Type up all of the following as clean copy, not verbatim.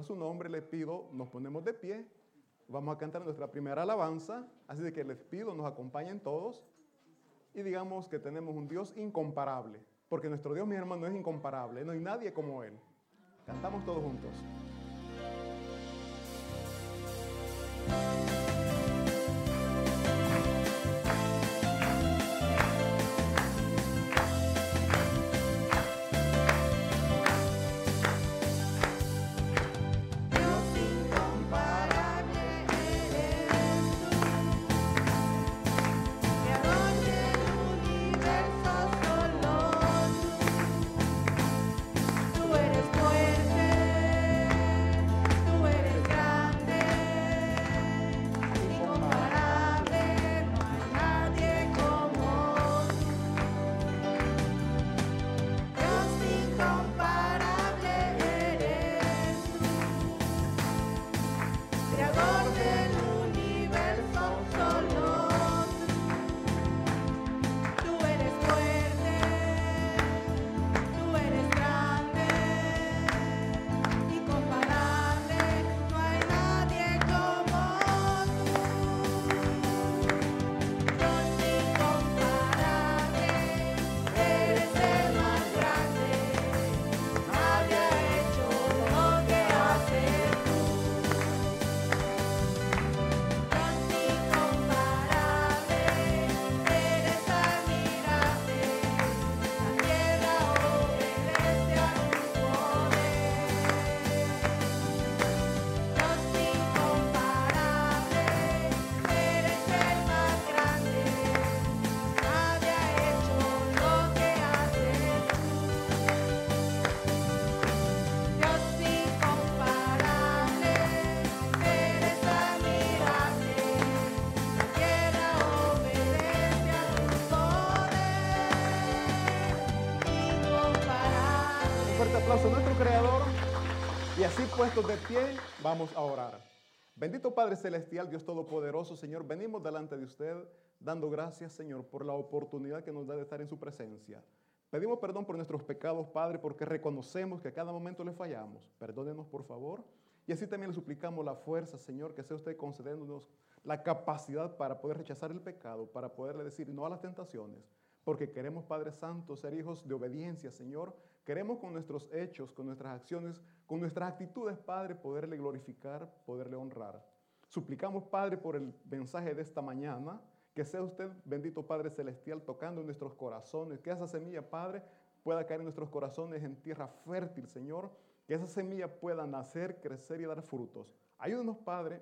en su nombre les pido, nos ponemos de pie, vamos a cantar nuestra primera alabanza, así de que les pido, nos acompañen todos y digamos que tenemos un Dios incomparable, porque nuestro Dios, mi hermano, es incomparable, no hay nadie como Él. Cantamos todos juntos. Aplauso a nuestro Creador y así puestos de pie vamos a orar. Bendito Padre Celestial, Dios Todopoderoso, Señor, venimos delante de usted dando gracias, Señor, por la oportunidad que nos da de estar en su presencia. Pedimos perdón por nuestros pecados, Padre, porque reconocemos que a cada momento le fallamos. Perdónenos, por favor. Y así también le suplicamos la fuerza, Señor, que sea usted concediéndonos la capacidad para poder rechazar el pecado, para poderle decir no a las tentaciones. Porque queremos, Padre Santo, ser hijos de obediencia, Señor. Queremos con nuestros hechos, con nuestras acciones, con nuestras actitudes, Padre, poderle glorificar, poderle honrar. Suplicamos, Padre, por el mensaje de esta mañana, que sea usted, bendito Padre Celestial, tocando en nuestros corazones, que esa semilla, Padre, pueda caer en nuestros corazones en tierra fértil, Señor, que esa semilla pueda nacer, crecer y dar frutos. Ayúdenos, Padre,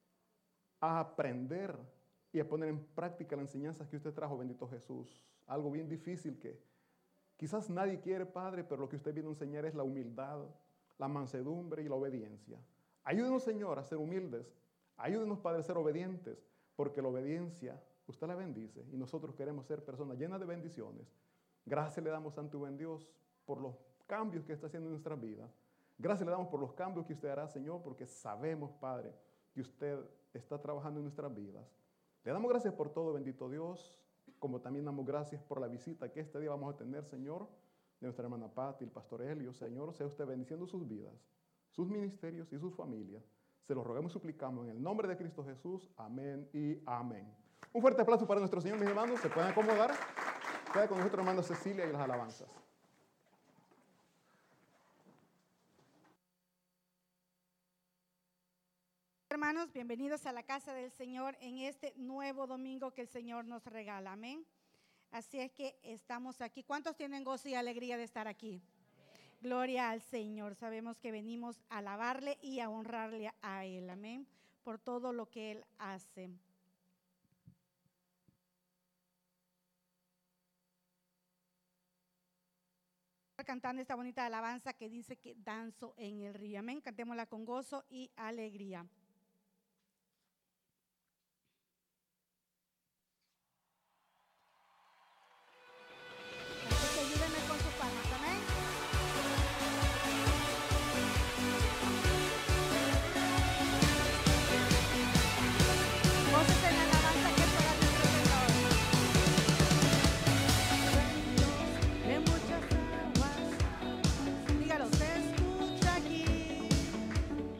a aprender y a poner en práctica las enseñanzas que usted trajo, bendito Jesús. Algo bien difícil que quizás nadie quiere, Padre, pero lo que usted viene a enseñar es la humildad, la mansedumbre y la obediencia. Ayúdenos, Señor, a ser humildes. Ayúdenos, Padre, a ser obedientes, porque la obediencia usted la bendice y nosotros queremos ser personas llenas de bendiciones. Gracias le damos, Santo y buen Dios, por los cambios que está haciendo en nuestra vida. Gracias le damos por los cambios que usted hará, Señor, porque sabemos, Padre, que usted está trabajando en nuestras vidas. Le damos gracias por todo, bendito Dios, como también damos gracias por la visita que este día vamos a tener, Señor, de nuestra hermana Patti, el pastor Helio. Señor, sea usted bendiciendo sus vidas, sus ministerios y sus familias. Se los rogamos y suplicamos en el nombre de Cristo Jesús. Amén y amén. Un fuerte aplauso para nuestro Señor, mis hermanos. Se pueden acomodar. Queda con nuestra hermana Cecilia y las alabanzas. Hermanos, bienvenidos a la casa del Señor en este nuevo domingo que el Señor nos regala. Amén. Así es que estamos aquí. ¿Cuántos tienen gozo y alegría de estar aquí? Amén. Gloria al Señor. Sabemos que venimos a alabarle y a honrarle a Él. Amén. Por todo lo que Él hace. Cantando esta bonita alabanza que dice que danzo en el río. Amén. Cantémosla con gozo y alegría. Ayúdenme con sus palmas. Amén. Voces en la alabanza que es para nuestro Señor. De muchas aguas, dígalo, se escucha aquí.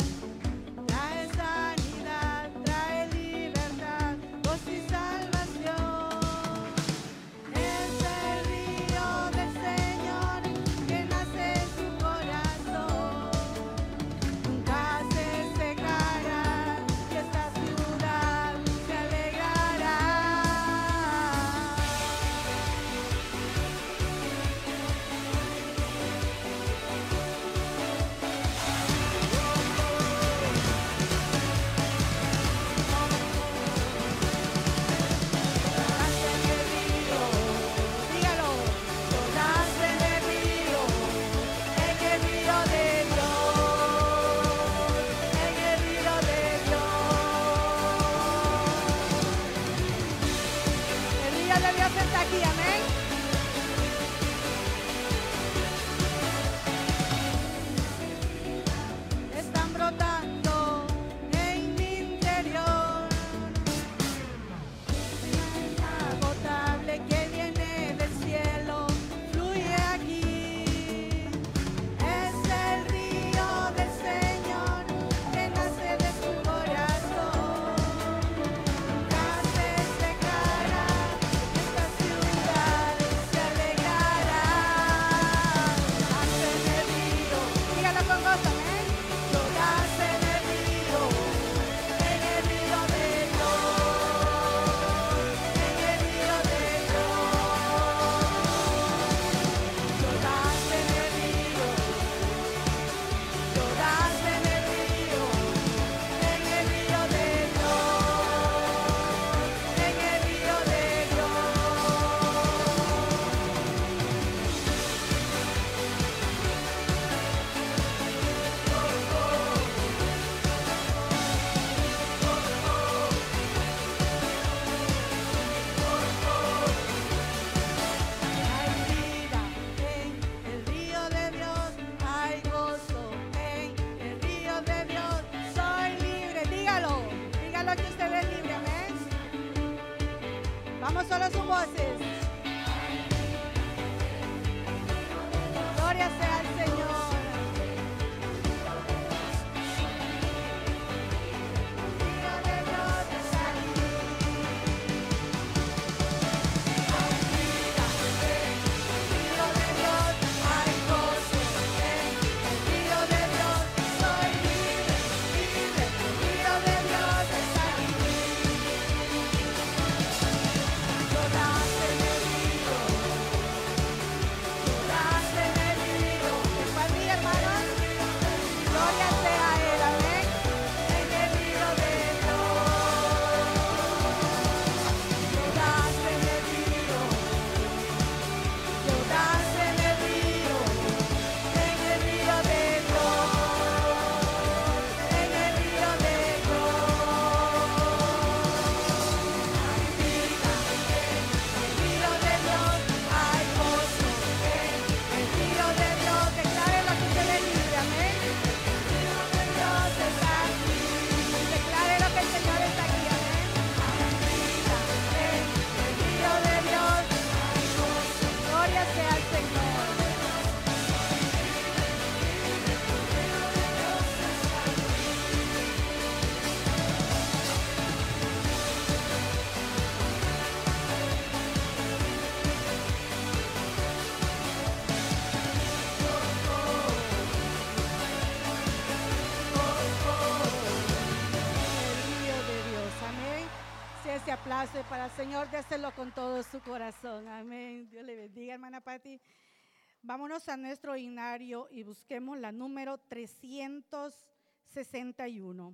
Vamos solo sus voces. Gloria sea al Señor. Aplauso para el Señor, déselo con todo su corazón. Amén. Dios le bendiga, hermana Patti. Vámonos a nuestro himnario y busquemos la número 361.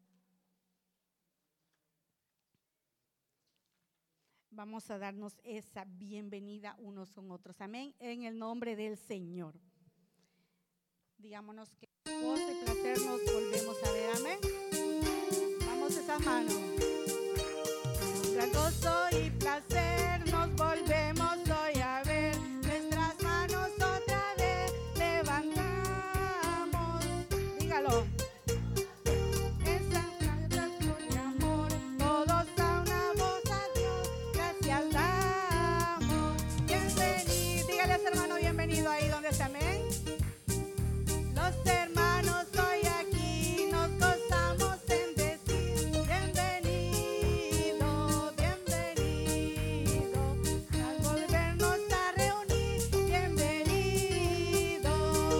Vamos a darnos esa bienvenida unos con otros. Amén. En el nombre del Señor. Digámonos que gozo y placer nos volvemos a ver. Amén. Vamos a esas manos. Gran gozo y placer nos volvemos hoy a ver, nuestras manos otra vez levantamos, dígalo. Esa con amor, todos a una voz a Dios, gracias damos. Bienvenido, dígale a ese hermano bienvenido ahí donde está, amén. Los hermanos hoy aquí nos gozamos en decir bienvenido, bienvenido, al volvernos a reunir, bienvenido.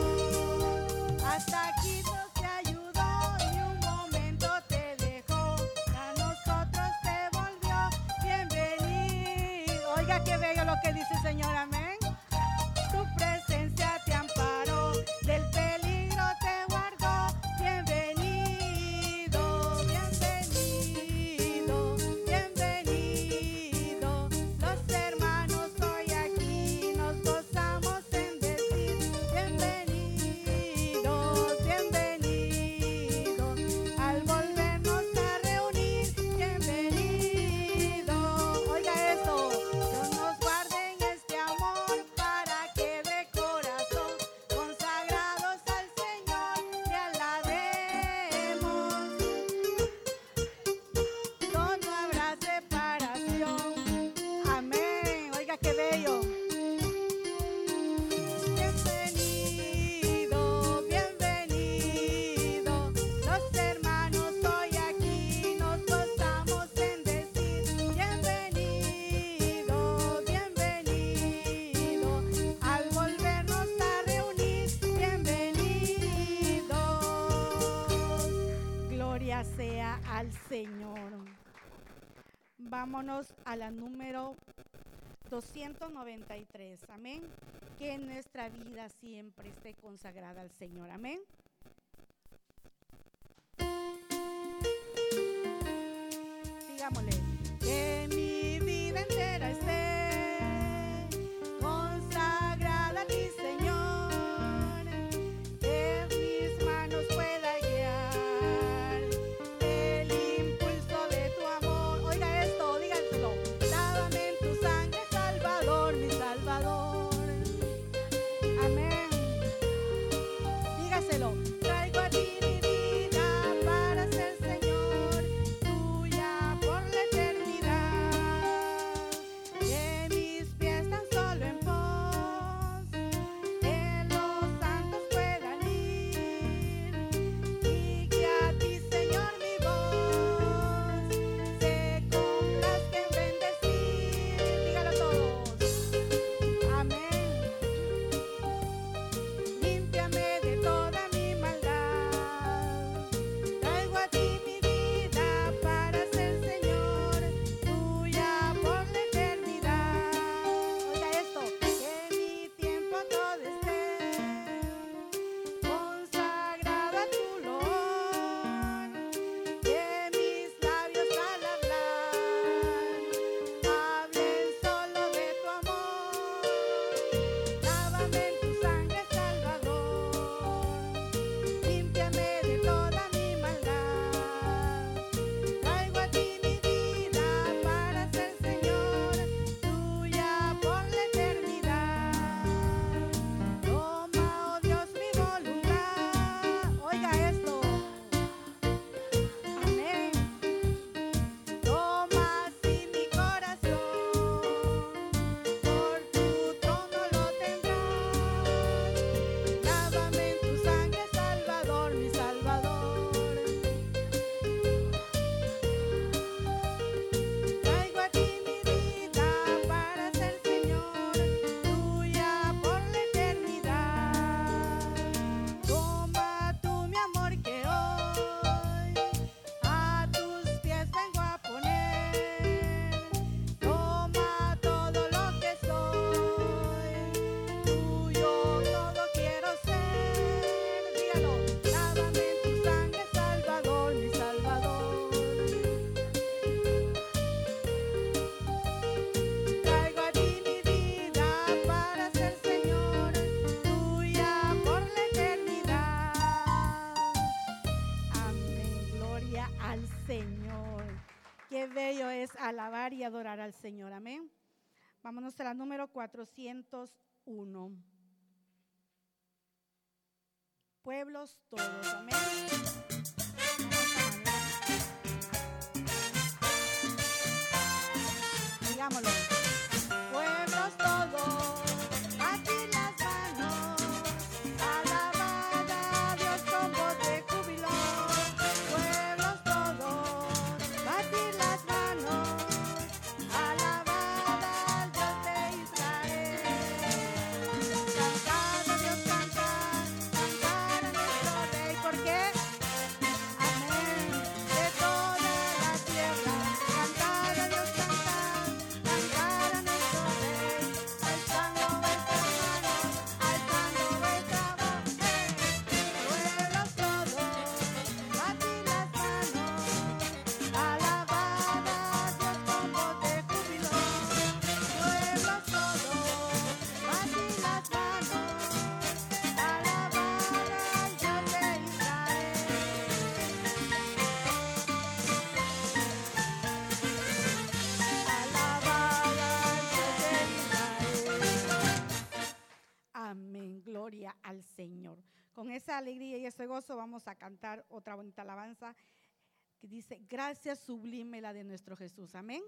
Hasta aquí Dios te ayudó y un momento te dejó, a nosotros te volvió, bienvenido. Oiga qué bello lo que dice el Señor, amén. Tu presencia te amparó, del peligro te guardó, bienvenido, bienvenido, bienvenido. Los hermanos hoy aquí nos gozamos en decir bienvenidos, bienvenidos, al volvernos a reunir, bienvenido. Oiga eso, Dios nos guarde en este amor para que de corazón consagrados al Señor le alabemos. Donde no habrá separación. Amén. Oiga qué bello. Bienvenido, bienvenido. Los hermanos hoy aquí nos gozamos en decir bienvenido, bienvenido. Al volvernos a reunir, bienvenido. Gloria sea al Señor. Vámonos a la número 293. Amén. Que nuestra vida siempre esté consagrada al Señor. Amén. Digámosle, que mi vida entera esté consagrada a ti, Señor, que mis manos pueda guiar el impulso de tu amor. Oiga esto, díganselo. Lávame en tu sangre, Salvador, mi Salvador. Amén. Dígaselo. Traigo a ti mi vida para ser Señor, tuya por la eternidad. al Señor. Qué bello es alabar y adorar al Señor. Amén. Vámonos a la número 401. Pueblos todos. Amén. Digámoslo. Pueblos todos, aquí las manos, alabad a Dios con voz de júbilo. Pueblos todos, batir las manos, alabad al Dios de Israel. Cantar a Dios, cantar, cantar a nuestro Rey, ¿por qué? Amén, de toda la tierra, cantar a Dios, cantar, cantar a nuestro Rey, alzando vuestras manos, alzando vuestra voz. Pueblos todos, batid las manos, alabad a Dios con voz de júbilo. Pueblos todos, batid las manos, alabad al Dios de Israel. Amén, gloria al Señor. Con esa alegría y ese gozo vamos a cantar otra bonita alabanza que dice: gracias sublime la de nuestro Jesús. Amén.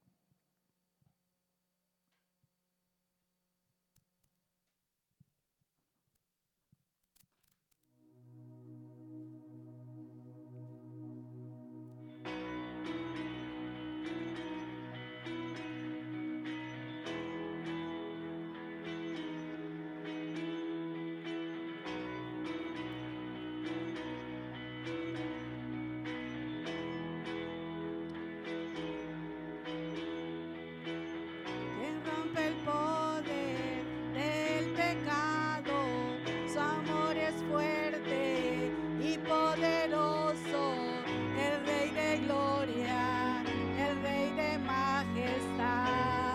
Quien rompe el poder del pecado, su amor es fuerte y poderoso, el Rey de gloria, el Rey de majestad.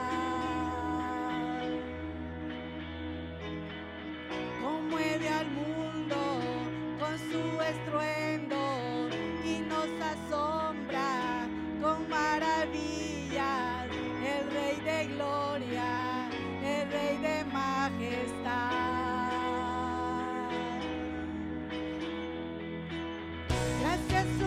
Conmueve al mundo con su estruendo y nos asombra con maravillas, el Rey de gloria, el Rey de majestad. Gracias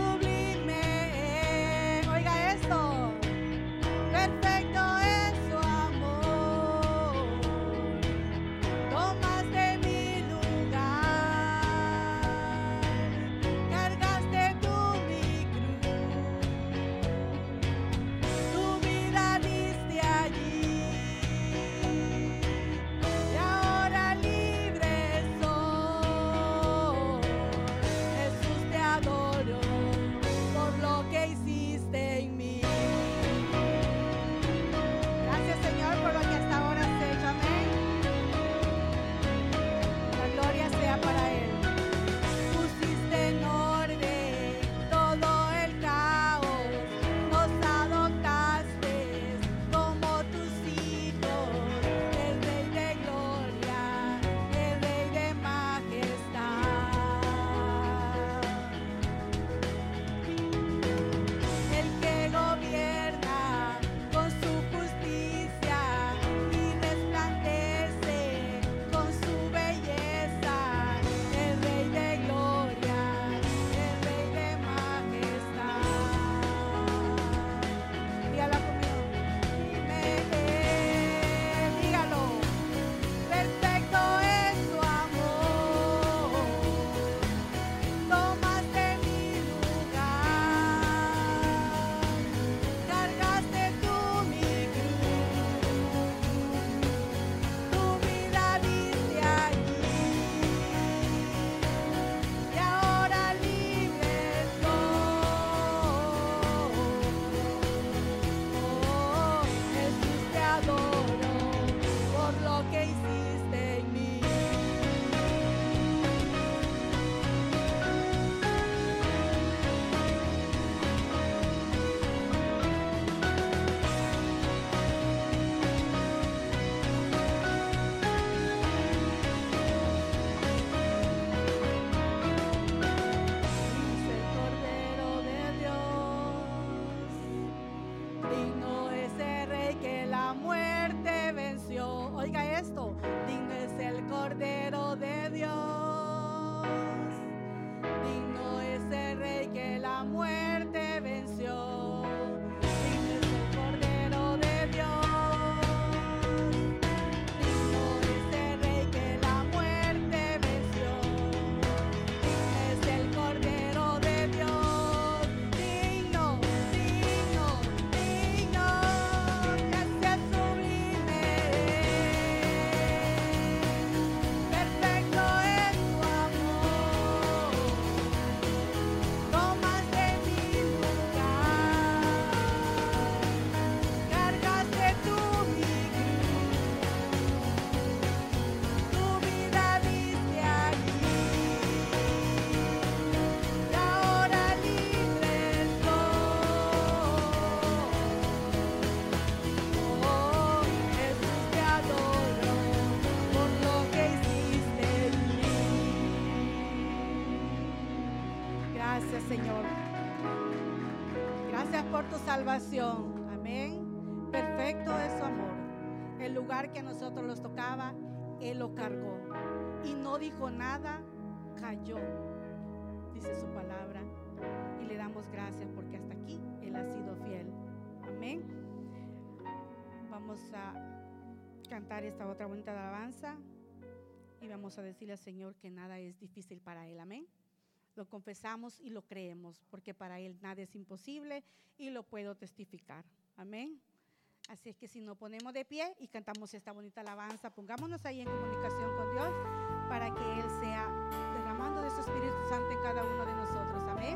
Señor. Gracias por tu salvación. Amén. Perfecto es su amor. El lugar que a nosotros nos tocaba, Él lo cargó. Y no dijo nada, cayó, dice su palabra. Y le damos gracias porque hasta aquí Él ha sido fiel. Amén. Vamos a cantar esta otra bonita alabanza. Y vamos a decirle al Señor que nada es difícil para Él. Amén. Lo confesamos y lo creemos, porque para Él nada es imposible y lo puedo testificar. Amén. Así es que si nos ponemos de pie y cantamos esta bonita alabanza, pongámonos ahí en comunicación con Dios para que Él sea derramando de su Espíritu Santo en cada uno de nosotros. Amén.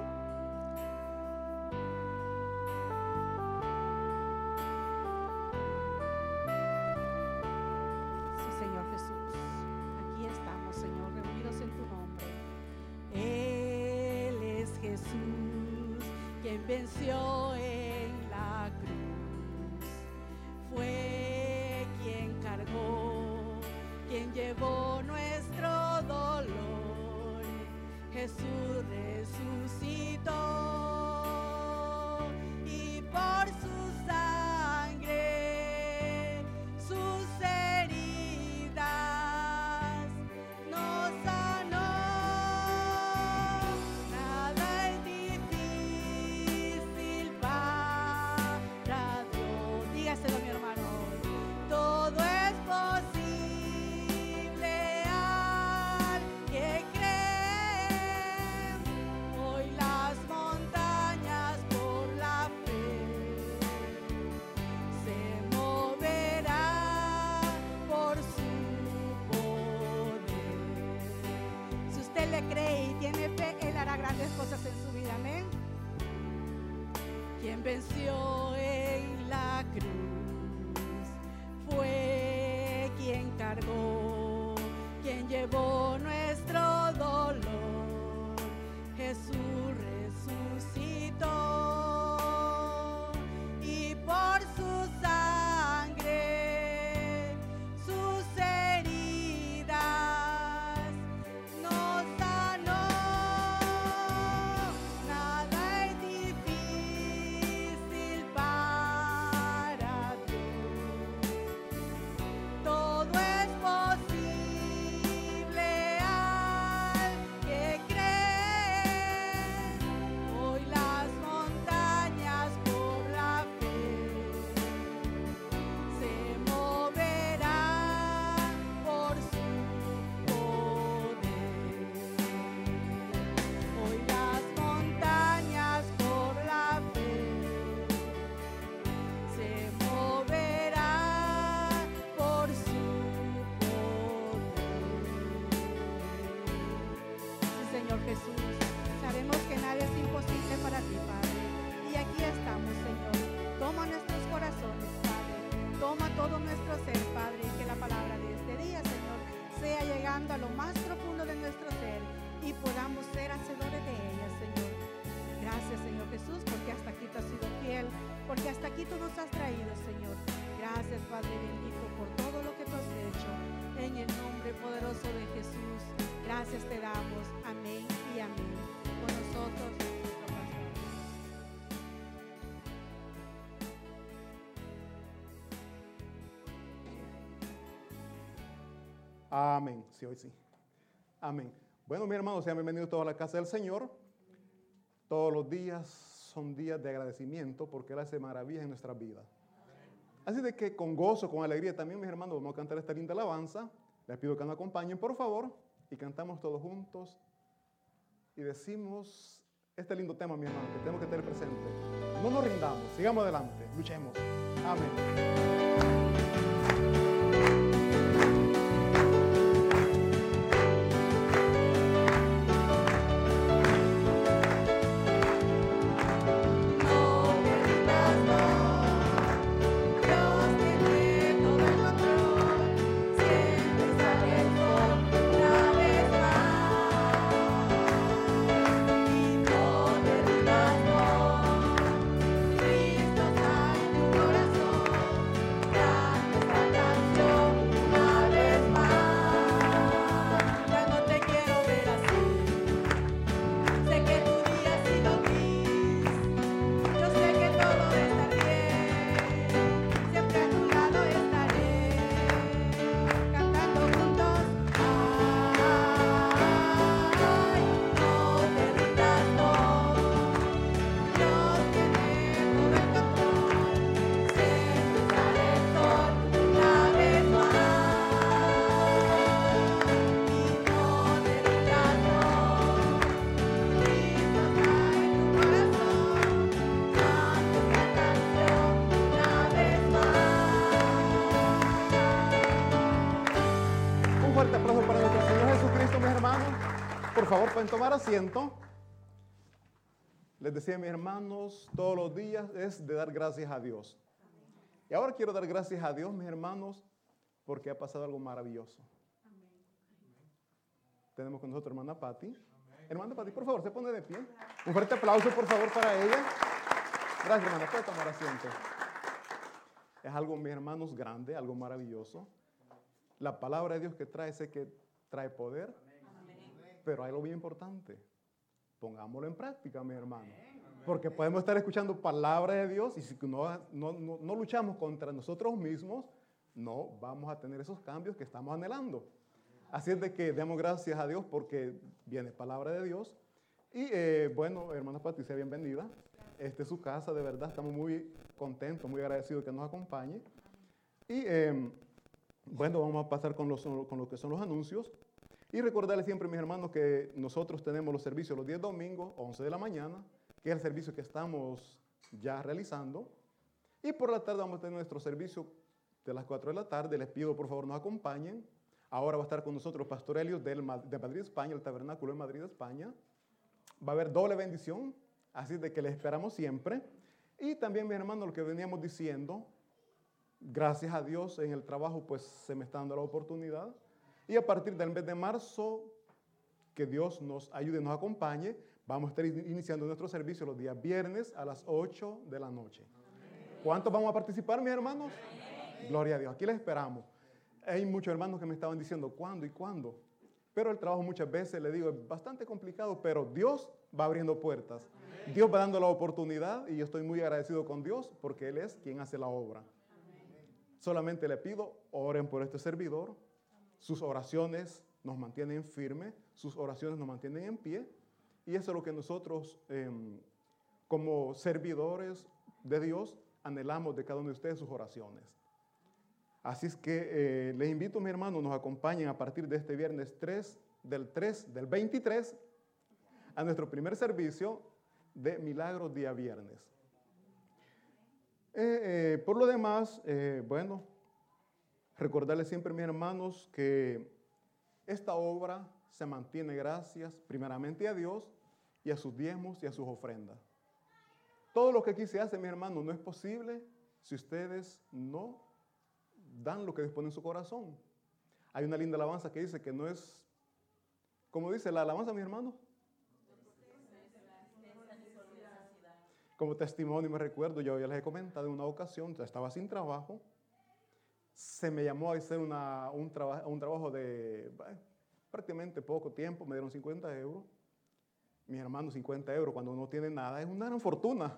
Sí, Señor Jesús. Aquí estamos, Señor, reunidos en tu nombre. Él es Jesús, quien venció en la cruz. Fue quien cargó, quien llevó nuestro dolor. Jesús resucitó y por su sangre, sus heridas nos sanó. Nada es difícil para Dios. Dígaselo, mi hermano. Todo es posible al que cree. Hoy las montañas por la fe se moverán por su poder. Si usted le cree y tiene fe, Él hará grandes cosas en su vida. Amén. Quien venció en la cruz fue quien cargó, quien llevó nuestro dolor. Jesús resucitó y por su sangre, sus heridas nos sanó. Nada es difícil para Dios. Todo es posible al que cree. Hoy las montañas por la fe se moverán por su poder. Hoy las montañas por la fe se moverán por su poder. Sí, Señor Jesús, sabemos que nada es imposible para ti, Padre. Y aquí estamos, Señor. Toma nuestros corazones, Padre. Toma todo nuestro ser, Padre. Y que la palabra de este día, Señor, sea llegando a lo más profundo de nuestro ser y podamos ser hacedores de ella, Señor. Gracias, Señor Jesús, porque hasta aquí tú has sido fiel, porque hasta aquí tú nos has traído, Señor. Gracias, Padre bendito, por todo lo que tú has hecho. En el nombre poderoso de Jesús, gracias te damos. Amén y amén. Con nosotros, nuestro pastor. Amén. Sí, hoy sí. Amén. Bueno, mis hermanos, sean bienvenidos todos a la casa del Señor. Todos los días son días de agradecimiento porque Él hace maravillas en nuestras vidas. Así de que con gozo, con alegría también, mis hermanos, vamos a cantar esta linda alabanza. Les pido que nos acompañen, por favor, y cantamos todos juntos y decimos este lindo tema, mi hermano, que tenemos que tener presente. No nos rindamos, sigamos adelante, luchemos. Amén. Cristo está en tu corazón. por favor, pueden tomar asiento. Les decía a mis hermanos, todos los días es de dar gracias a Dios. Y ahora quiero dar gracias a Dios, mis hermanos, porque ha pasado algo maravilloso. Tenemos con nosotros a hermana Patti. Hermana Patti, por favor, se pone de pie. Un fuerte aplauso, por favor, para ella. Gracias, hermana. Puede tomar asiento. Es algo, mis hermanos, grande, algo maravilloso. La palabra de Dios que trae, sé que trae poder. Pero hay algo bien importante. Pongámoslo en práctica, mis hermanos. Porque podemos estar escuchando palabra de Dios y si no luchamos contra nosotros mismos, no vamos a tener esos cambios que estamos anhelando. Así es de que demos gracias a Dios porque viene palabra de Dios. Y bueno, hermana Patricia, bienvenida. Esta es su casa, de verdad, estamos muy contentos, muy agradecidos que nos acompañe. Y bueno, vamos a pasar con lo que son los anuncios. Y recordarles siempre, mis hermanos, que nosotros tenemos los servicios los días domingos, 11 de la mañana, que es el servicio que estamos ya realizando. Y por la tarde vamos a tener nuestro servicio de las 4 de la tarde. Les pido, por favor, nos acompañen. Ahora va a estar con nosotros Pastor Helios de Madrid, España, el tabernáculo de Madrid, España. Va a haber doble bendición, así de que les esperamos siempre. Y también, mis hermanos, lo que veníamos diciendo, gracias a Dios en el trabajo, pues se me está dando la oportunidad. Y a partir del mes de marzo, que Dios nos ayude y nos acompañe, vamos a estar iniciando nuestro servicio los días viernes a las 8 de la noche. ¿Cuántos vamos a participar, mis hermanos? Gloria a Dios. Aquí les esperamos. Hay muchos hermanos que me estaban diciendo cuándo y cuándo. Pero el trabajo muchas veces, le digo, es bastante complicado, pero Dios va abriendo puertas. Dios va dando la oportunidad y yo estoy muy agradecido con Dios porque Él es quien hace la obra. Solamente le pido, oren por este servidor. Sus oraciones nos mantienen firmes, sus oraciones nos mantienen en pie. Y eso es lo que nosotros, como servidores de Dios, anhelamos de cada uno de ustedes, sus oraciones. Así es que les invito, mis hermanos, nos acompañen a partir de este viernes 3, del 23, a nuestro primer servicio de Milagros día viernes. Por lo demás, bueno, recordarles siempre, mis hermanos, que esta obra se mantiene gracias primeramente a Dios y a sus diezmos y a sus ofrendas. Todo lo que aquí se hace, mis hermanos, no es posible si ustedes no dan lo que disponen en su corazón. Hay una linda alabanza que dice que no es, como dice la alabanza, mis hermanos, como testimonio me recuerdo, yo ya les he comentado en una ocasión, estaba sin trabajo, se me llamó a hacer un trabajo de prácticamente poco tiempo, me dieron 50 euros. Mis hermanos, 50 euros cuando uno tiene nada es una gran fortuna.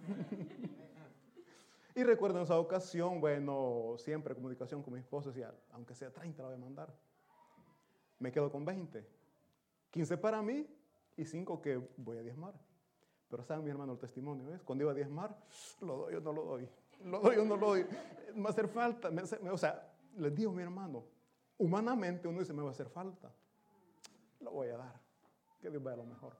Y recuerdo en esa ocasión, bueno, siempre comunicación con mi esposo, decía, aunque sea 30 la voy a mandar. Me quedo con 20. 15 para mí y 5 que voy a diezmar. Pero saben, mi hermano, el testimonio es, cuando iba a diezmar, lo doy o no lo doy. Lo doy o no lo doy. Me va a hacer falta. O sea, les digo, mi hermano, humanamente uno dice, me va a hacer falta. Lo voy a dar. Que Dios vaya lo mejor.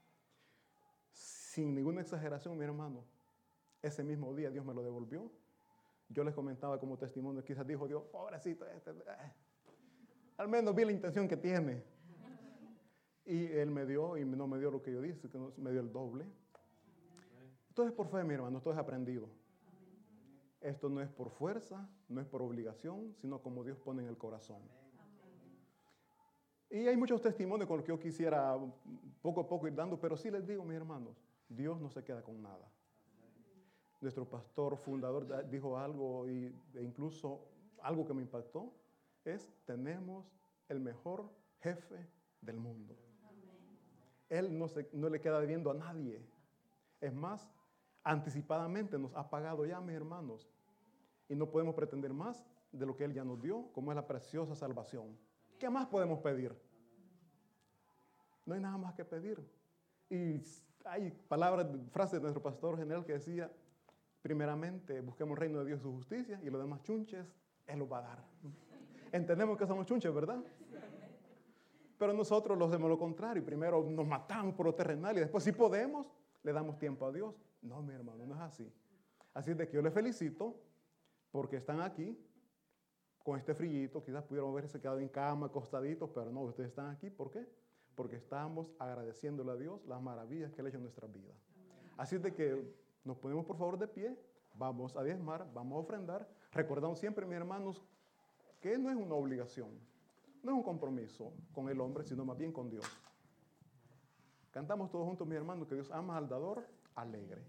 Sin ninguna exageración, mi hermano, ese mismo día Dios me lo devolvió. Yo les comentaba como testimonio, quizás dijo Dios, pobrecito, al menos vi la intención que tiene. Y Él me dio, y no me dio lo que yo dije, que me dio el doble. Entonces, por fe, mi hermano, esto es aprendido. Esto no es por fuerza, no es por obligación, sino como Dios pone en el corazón. Y hay muchos testimonios con los que yo quisiera poco a poco ir dando, pero sí les digo, mis hermanos, Dios no se queda con nada. Nuestro pastor fundador dijo algo, e incluso algo que me impactó, es, tenemos el mejor jefe del mundo. Él no le queda debiendo a nadie. Es más, anticipadamente nos ha pagado ya, mis hermanos. Y no podemos pretender más de lo que Él ya nos dio, como es la preciosa salvación. ¿Qué más podemos pedir? No hay nada más que pedir. Y hay frases de nuestro pastor general que decía, primeramente busquemos el reino de Dios y su justicia y los demás chunches, Él los va a dar. Entendemos que somos chunches, ¿verdad? Pero nosotros lo hacemos lo contrario. Primero nos matamos por lo terrenal y después, si podemos, le damos tiempo a Dios. No, mi hermano, no es así. Así es de que yo les felicito porque están aquí con este frillito. Quizás pudieron haberse quedado en cama, acostaditos, pero no, ustedes están aquí. ¿Por qué? porque estamos agradeciéndole a Dios las maravillas que Él ha hecho en nuestra vida. Así de que nos ponemos por favor de pie, vamos a diezmar, vamos a ofrendar. Recordamos siempre, mis hermanos, que no es una obligación, no es un compromiso con el hombre, sino más bien con Dios. Cantamos todos juntos, mis hermanos, que Dios ama al dador alegre.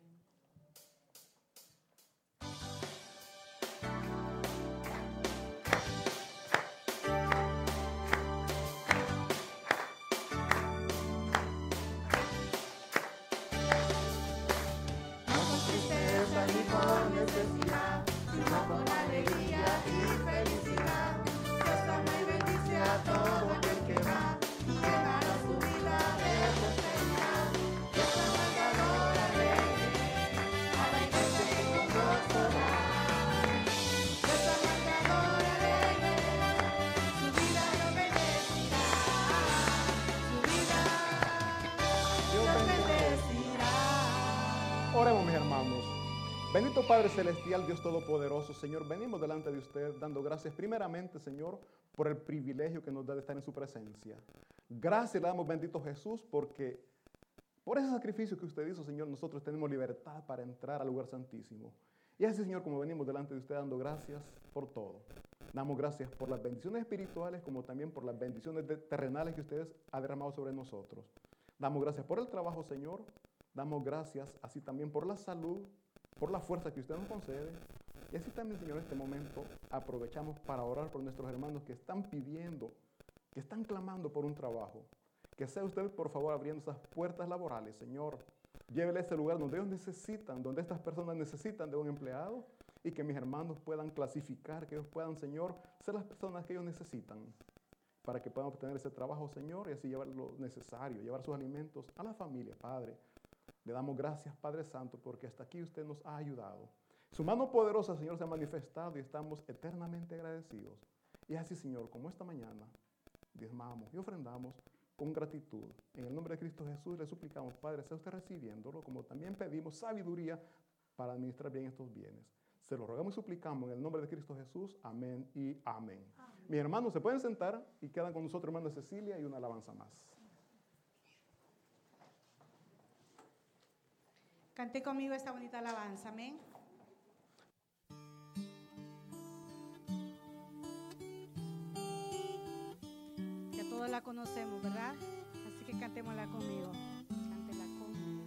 Oremos, mis hermanos. Bendito Padre Celestial, Dios Todopoderoso, Señor, venimos delante de usted dando gracias primeramente, Señor, por el privilegio que nos da de estar en su presencia. Gracias le damos, bendito Jesús, porque por ese sacrificio que usted hizo, Señor, nosotros tenemos libertad para entrar al lugar santísimo. Y así, Señor, como venimos delante de usted dando gracias por todo. Damos gracias por las bendiciones espirituales, como también por las bendiciones terrenales que ustedes han derramado sobre nosotros. Damos gracias por el trabajo, Señor. Damos gracias así también por la salud, por la fuerza que usted nos concede. Y así también, Señor, en este momento aprovechamos para orar por nuestros hermanos que están pidiendo, que están clamando por un trabajo. Que sea usted, por favor, abriendo esas puertas laborales, Señor. Llévele a ese lugar donde ellos necesitan, donde estas personas necesitan de un empleado, y que mis hermanos puedan clasificar, que ellos puedan, Señor, ser las personas que ellos necesitan para que puedan obtener ese trabajo, Señor, y así llevar lo necesario, llevar sus alimentos a la familia, Padre. Le damos gracias, Padre Santo, porque hasta aquí usted nos ha ayudado. Su mano poderosa, Señor, se ha manifestado y estamos eternamente agradecidos. Y así, Señor, como esta mañana diezmamos y ofrendamos con gratitud. En el nombre de Cristo Jesús le suplicamos, Padre, sea usted recibiéndolo, como también pedimos sabiduría para administrar bien estos bienes. Se lo rogamos y suplicamos en el nombre de Cristo Jesús. Amén y amén. Mis hermanos se pueden sentar y quedan con nosotros, hermana Cecilia, y una alabanza más. Cante conmigo esta bonita alabanza, amén. Que todos la conocemos, ¿verdad? Así que cantémosla conmigo. Cántela conmigo.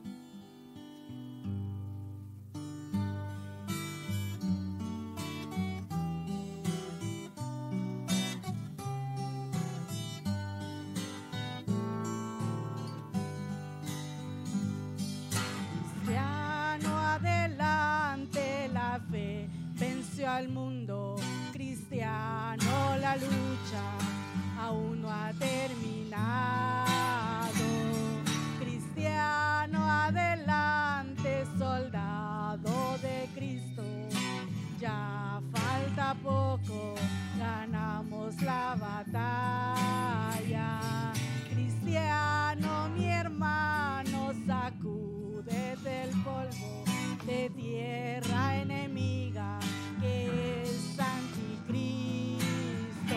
Al mundo cristiano, la lucha aún no ha terminado. Cristiano, adelante, soldado de Cristo. Ya falta poco, ganamos la batalla. Cristiano, mi hermano, sacúdete el polvo de tierra enemiga que es anticristo,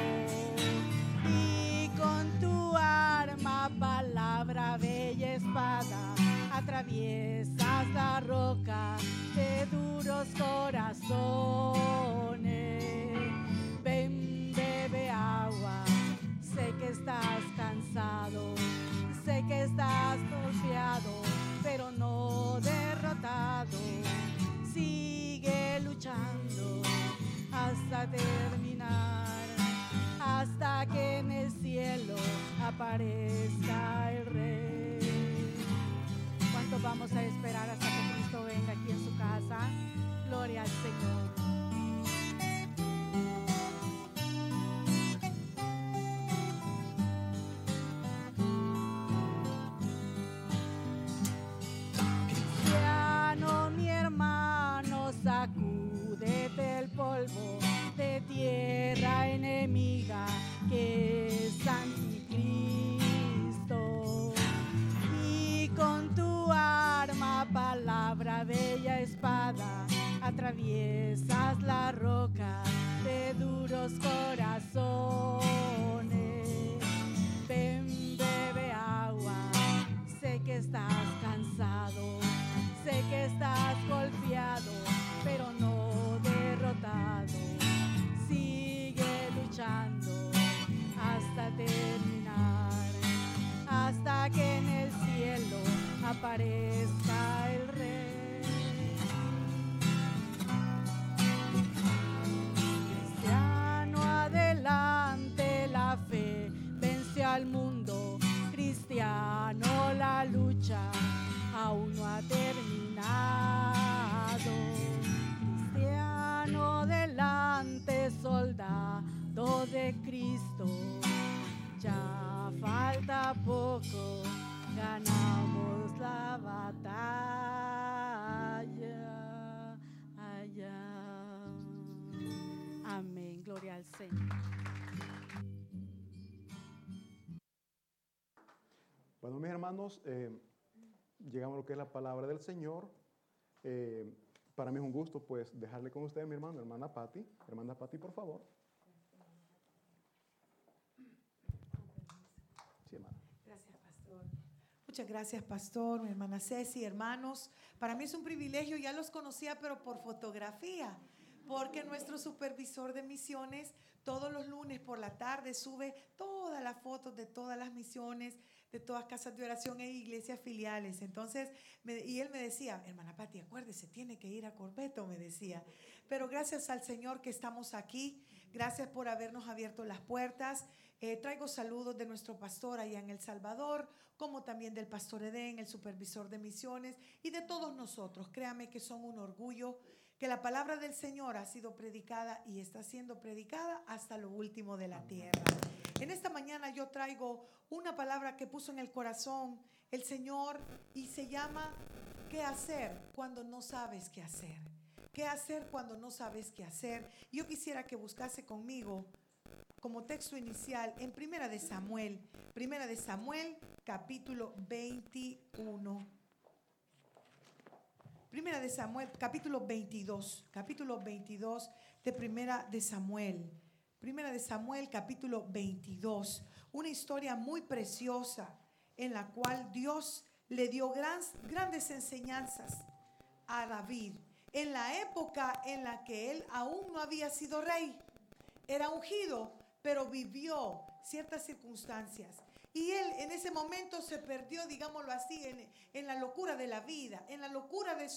y con tu arma, palabra, bella espada, atraviesas la roca de duros corazones. Ven, bebe agua, sé que estás cansado, sé que estás golpeado, pero no derrotado. Sigue luchando hasta terminar, hasta que en el cielo aparezca el Rey. ¿Cuánto vamos a esperar hasta que Cristo venga aquí en su casa? Gloria al Señor. Sacúdete el polvo de tierra enemiga que es anticristo, y con tu arma, palabra, bella espada, atraviesas la roca de duros corazones. Ven, bebe que estás cansado, sé que estás golpeado, pero no derrotado. Sigue luchando hasta terminar, hasta que en el cielo aparezca el Rey. Cristiano, adelante, la fe vence al mundo. Cristiano, la lucha aún no ha terminado. Cristiano, adelante, soldado de Cristo. Ya falta poco, ganamos la batalla allá. Amén, gloria al Señor. Bueno, mis hermanos, llegamos a lo que es la palabra del Señor. Para mí es un gusto, pues, dejarle con ustedes, mi hermano, hermana Patti. Hermana Patti, por favor. Sí, hermana. Gracias, pastor. Muchas gracias, pastor, mi hermana Ceci, hermanos. Para mí es un privilegio, ya los conocía, pero por fotografía, porque nuestro supervisor de misiones todos los lunes por la tarde sube todas las fotos de todas las misiones, de todas casas de oración e iglesias filiales. Entonces, y él me decía, hermana Patti, acuérdese, tiene que ir a Corbeto, me decía. Pero gracias al Señor que estamos aquí, gracias por habernos abierto las puertas. Traigo saludos de nuestro pastor allá en El Salvador, como también del pastor Edén, el supervisor de misiones, y de todos nosotros. Créame que son un orgullo, que la palabra del Señor ha sido predicada y está siendo predicada hasta lo último de la tierra. En esta mañana yo traigo una palabra que puso en el corazón el Señor y se llama ¿qué hacer cuando no sabes qué hacer? ¿Qué hacer cuando no sabes qué hacer? Yo quisiera que buscase conmigo como texto inicial en Primera de Samuel capítulo 21. Primera de Samuel, capítulo 22 de Primera de Samuel. Primera de Samuel, capítulo 22. Una historia muy preciosa en la cual Dios le dio grandes enseñanzas a David. En la época en la que él aún no había sido rey. Era ungido, pero vivió ciertas circunstancias. Y él en ese momento se perdió, digámoslo así, en la locura de la vida, en la locura de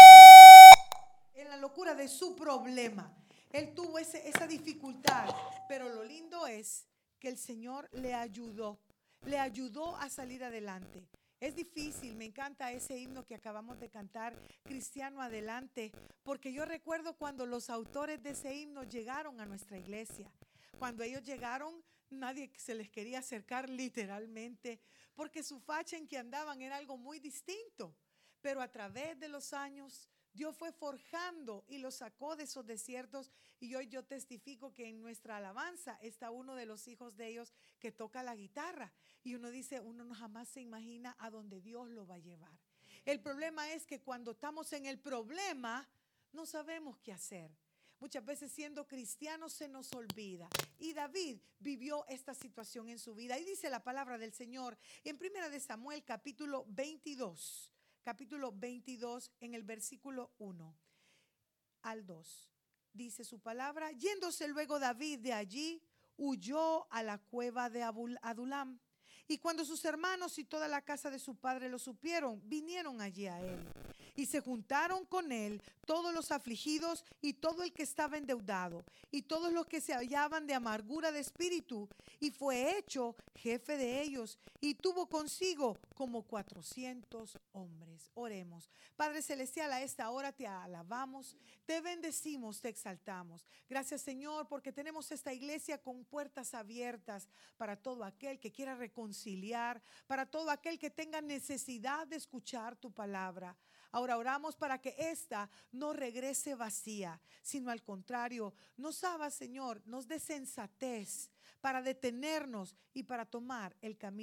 su problema. Él tuvo esa dificultad, pero lo lindo es que el Señor le ayudó a salir adelante. Es difícil, me encanta ese himno que acabamos de cantar, Cristiano Adelante, porque yo recuerdo cuando los autores de ese himno llegaron a nuestra iglesia. Cuando ellos llegaron, nadie se les quería acercar literalmente, porque su facha en que andaban era algo muy distinto. Pero a través de los años, Dios fue forjando y los sacó de esos desiertos. Y hoy yo testifico que en nuestra alabanza está uno de los hijos de ellos que toca la guitarra. Y uno dice, uno no jamás se imagina a dónde Dios lo va a llevar. El problema es que cuando estamos en el problema, no sabemos qué hacer. Muchas veces siendo cristianos se nos olvida. Y David vivió esta situación en su vida. Y dice la palabra del Señor en Primera de Samuel capítulo 22 en el versículo 1 al 2. Dice su palabra, yéndose luego David de allí, huyó a la cueva de Adulam. Y cuando sus hermanos y toda la casa de su padre lo supieron, vinieron allí a él. Y se juntaron con él todos los afligidos y todo el que estaba endeudado y todos los que se hallaban de amargura de espíritu, y fue hecho jefe de ellos y tuvo consigo como 400 hombres. Oremos. Padre celestial, a esta hora te alabamos, te bendecimos, te exaltamos. Gracias, Señor, porque tenemos esta iglesia con puertas abiertas para todo aquel que quiera reconciliar, para todo aquel que tenga necesidad de escuchar tu palabra. Ahora oramos para que esta no regrese vacía, sino al contrario, nos haga, Señor, nos dé sensatez para detenernos y para tomar el camino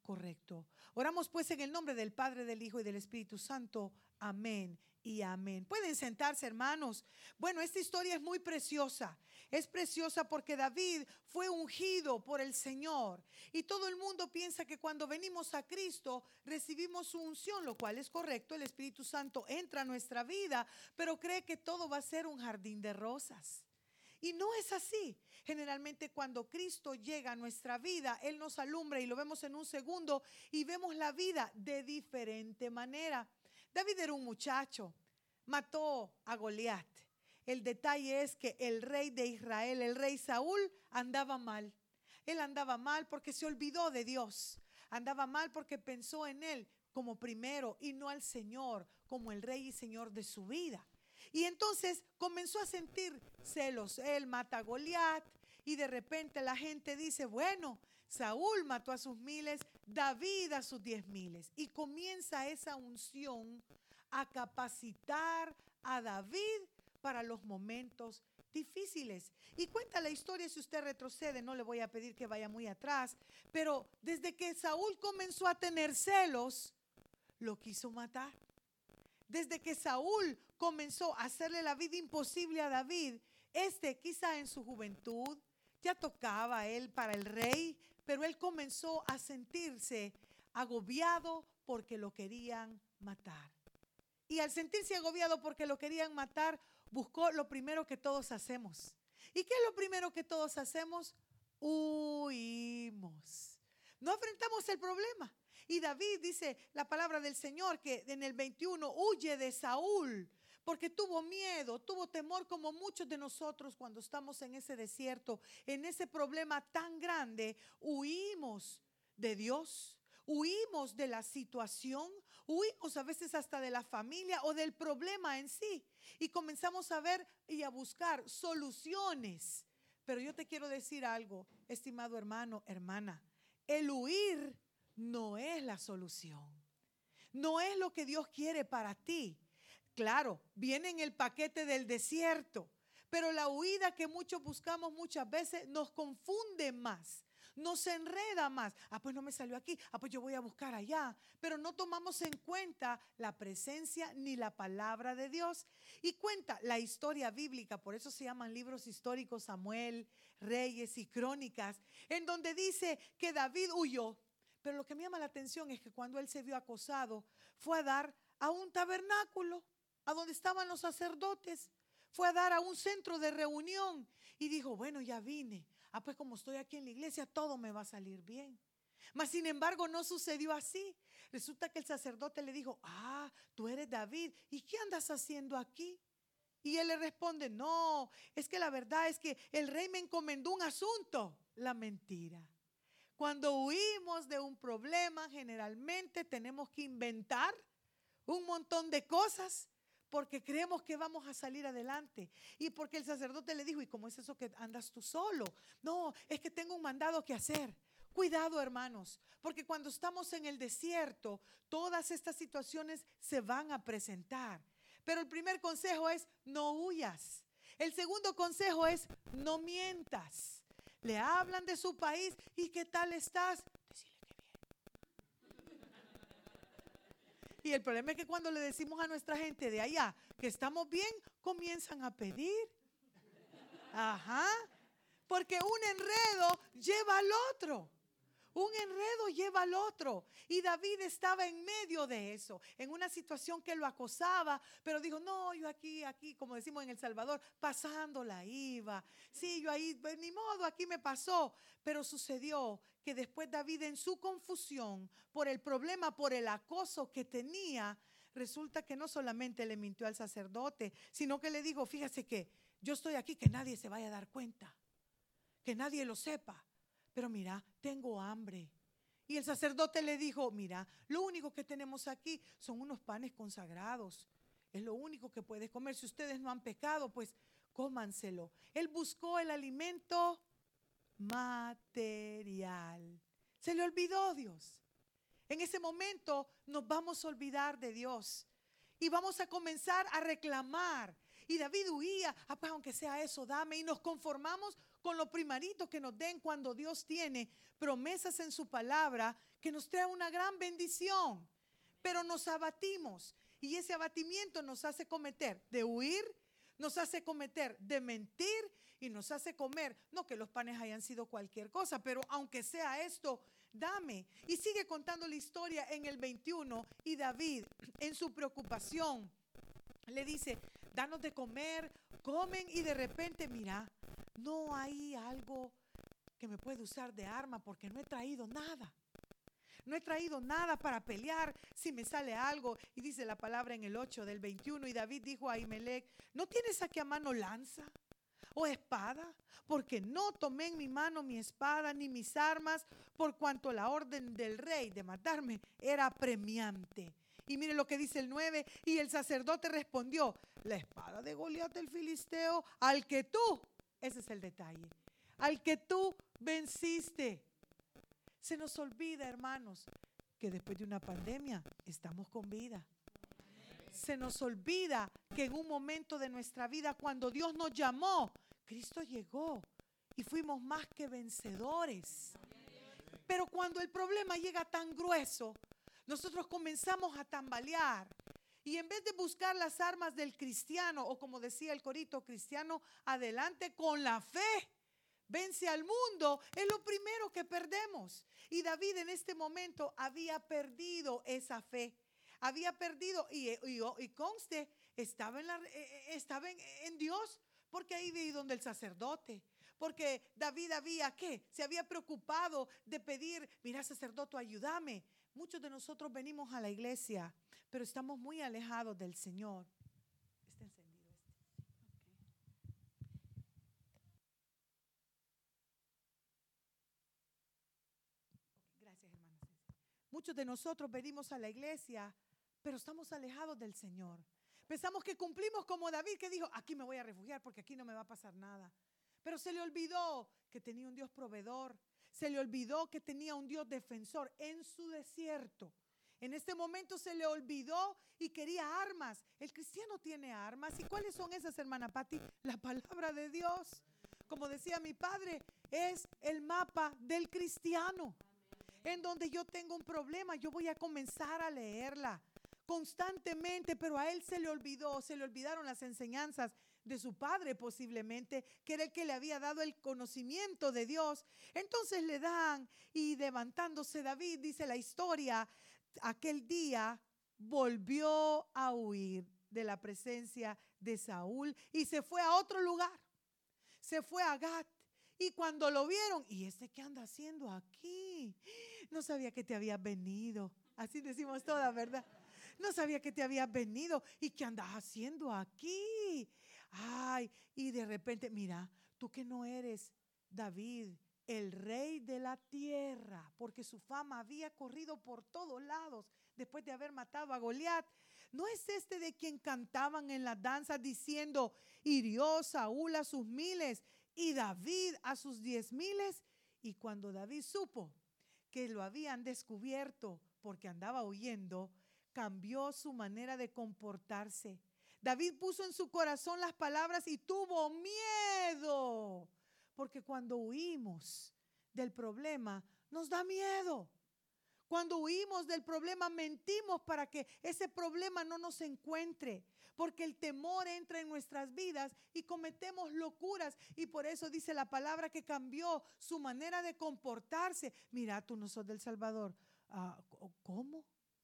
correcto. Oramos pues en el nombre del Padre, del Hijo y del Espíritu Santo. Amén y amén. Pueden sentarse, hermanos. Bueno, esta historia es muy preciosa. Es preciosa porque David fue ungido por el Señor. Y todo el mundo piensa que cuando venimos a Cristo recibimos su unción, lo cual es correcto. El Espíritu Santo entra a nuestra vida, pero cree que todo va a ser un jardín de rosas. Y no es así. Generalmente cuando Cristo llega a nuestra vida, Él nos alumbra y lo vemos en un segundo y vemos la vida de diferente manera. David era un muchacho, mató a Goliat. El detalle es que el rey de Israel, el rey Saúl, andaba mal. Él andaba mal porque se olvidó de Dios. Andaba mal porque pensó en Él como primero y no al Señor como el rey y Señor de su vida. Y entonces comenzó a sentir celos. Él mata a Goliat y de repente la gente dice, bueno, Saúl mató a sus miles, David a sus 10,000. Y comienza esa unción a capacitar a David para los momentos difíciles. Y cuenta la historia, si usted retrocede, no le voy a pedir que vaya muy atrás, pero desde que Saúl comenzó a tener celos, lo quiso matar. Desde que Saúl comenzó a hacerle la vida imposible a David, quizá en su juventud ya tocaba él para el rey, pero él comenzó a sentirse agobiado porque lo querían matar. Y al sentirse agobiado porque lo querían matar, buscó lo primero que todos hacemos. ¿Y qué es lo primero que todos hacemos? Huimos. No enfrentamos el problema. Y David dice la palabra del Señor que en el 21 huye de Saúl porque tuvo miedo, tuvo temor como muchos de nosotros cuando estamos en ese desierto, en ese problema tan grande. Huimos de Dios, huimos de la situación, huimos a veces hasta de la familia o del problema en sí y comenzamos a ver y a buscar soluciones. Pero yo te quiero decir algo, estimado hermano, hermana, el huir no es la solución. No es lo que Dios quiere para ti. Claro, viene en el paquete del desierto, pero la huida que muchos buscamos muchas veces nos confunde más, nos enreda más. Pues no me salió aquí, pues yo voy a buscar allá. Pero no tomamos en cuenta la presencia ni la palabra de Dios. Y cuenta la historia bíblica, por eso se llaman libros históricos, Samuel, Reyes y Crónicas, en donde dice que David huyó. Pero lo que me llama la atención es que cuando él se vio acosado, fue a dar a un tabernáculo, a donde estaban los sacerdotes. Fue a dar a un centro de reunión y dijo, bueno, ya vine. Pues como estoy aquí en la iglesia, todo me va a salir bien. Mas sin embargo no sucedió así. Resulta que el sacerdote le dijo, tú eres David, ¿y qué andas haciendo aquí? Y él le responde, no, es que la verdad es que el rey me encomendó un asunto. La mentira. Cuando huimos de un problema, generalmente tenemos que inventar un montón de cosas porque creemos que vamos a salir adelante. Y porque el sacerdote le dijo, ¿y cómo es eso que andas tú solo? No, es que tengo un mandado que hacer. Cuidado, hermanos, porque cuando estamos en el desierto, todas estas situaciones se van a presentar. Pero el primer consejo es, no huyas. El segundo consejo es, no mientas. Le hablan de su país, ¿y qué tal estás? Decirle que bien. Y el problema es que cuando le decimos a nuestra gente de allá que estamos bien, comienzan a pedir. Porque un enredo lleva al otro. Un enredo lleva al otro. Y David estaba en medio de eso, en una situación que lo acosaba, pero dijo, no, yo aquí, como decimos en El Salvador, pasándola iba. Sí, yo ahí, pues, ni modo, aquí me pasó. Pero sucedió que después David, en su confusión por el problema, por el acoso que tenía, resulta que no solamente le mintió al sacerdote, sino que le dijo, fíjese que yo estoy aquí, que nadie se vaya a dar cuenta, que nadie lo sepa. Pero mira, tengo hambre. Y el sacerdote le dijo, mira, lo único que tenemos aquí son unos panes consagrados. Es lo único que puedes comer. Si ustedes no han pecado, pues cómanselo. Él buscó el alimento material. Se le olvidó Dios. En ese momento nos vamos a olvidar de Dios. Y vamos a comenzar a reclamar. Y David huía, pues aunque sea eso, dame. Y nos conformamos con lo primerito que nos den cuando Dios tiene promesas en su palabra que nos trae una gran bendición, pero nos abatimos y ese abatimiento nos hace cometer de huir, nos hace cometer de mentir y nos hace comer, no que los panes hayan sido cualquier cosa, pero aunque sea esto, dame. Y sigue contando la historia en el 21 y David en su preocupación le dice, danos de comer, comen y de repente, mira, no hay algo que me puede usar de arma porque no he traído nada. No he traído nada para pelear si me sale algo. Y dice la palabra en el 8 del 21. Y David dijo a Ahimelech, ¿no tienes aquí a mano lanza o espada? Porque no tomé en mi mano mi espada ni mis armas, por cuanto la orden del rey de matarme era apremiante. Y mire lo que dice el 9. Y el sacerdote respondió, la espada de Goliat el filisteo, al que tú, ese es el detalle, al que tú venciste. Se nos olvida, hermanos, que después de una pandemia estamos con vida. Se nos olvida que en un momento de nuestra vida, cuando Dios nos llamó, Cristo llegó y fuimos más que vencedores. Pero cuando el problema llega tan grueso, nosotros comenzamos a tambalear. Y en vez de buscar las armas del cristiano, o como decía el corito, cristiano adelante con la fe, vence al mundo, es lo primero que perdemos. Y David en este momento había perdido esa fe. Había perdido, y conste, estaba en Dios, porque ahí vi donde el sacerdote. Porque David se había preocupado de pedir, mira sacerdote, ayúdame. Muchos de nosotros venimos a la iglesia, pero estamos muy alejados del Señor. Está encendido este. Gracias, hermana. Muchos de nosotros venimos a la iglesia, pero estamos alejados del Señor. Pensamos que cumplimos como David, que dijo, aquí me voy a refugiar porque aquí no me va a pasar nada. Pero se le olvidó que tenía un Dios proveedor. Se le olvidó que tenía un Dios defensor en su desierto. En este momento se le olvidó y quería armas. El cristiano tiene armas. ¿Y cuáles son esas, hermana Patti? La palabra de Dios. Como decía mi padre, es el mapa del cristiano. En donde yo tengo un problema, yo voy a comenzar a leerla constantemente, pero a él se le olvidaron las enseñanzas de su padre posiblemente, que era el que le había dado el conocimiento de Dios. Entonces le dan, y levantándose David, dice la historia, aquel día volvió a huir de la presencia de Saúl y se fue a otro lugar, se fue a Gat. Y cuando lo vieron, ¿y este qué anda haciendo aquí? No sabía que te habías venido. Así decimos todas, ¿verdad? No sabía que te habías venido. ¿Y qué andas haciendo aquí? Ay, y de repente, mira, tú que no eres David, el rey de la tierra, porque su fama había corrido por todos lados después de haber matado a Goliat. ¿No es este de quien cantaban en las danzas diciendo, hirió Saúl a sus miles y David a sus 10,000? Y cuando David supo que lo habían descubierto porque andaba huyendo, cambió su manera de comportarse. David puso en su corazón las palabras y tuvo miedo, porque cuando huimos del problema nos da miedo. Cuando huimos del problema mentimos para que ese problema no nos encuentre, porque el temor entra en nuestras vidas y cometemos locuras. Y por eso dice la palabra que cambió su manera de comportarse. Mira, tú no sos del Salvador. ¿Cómo?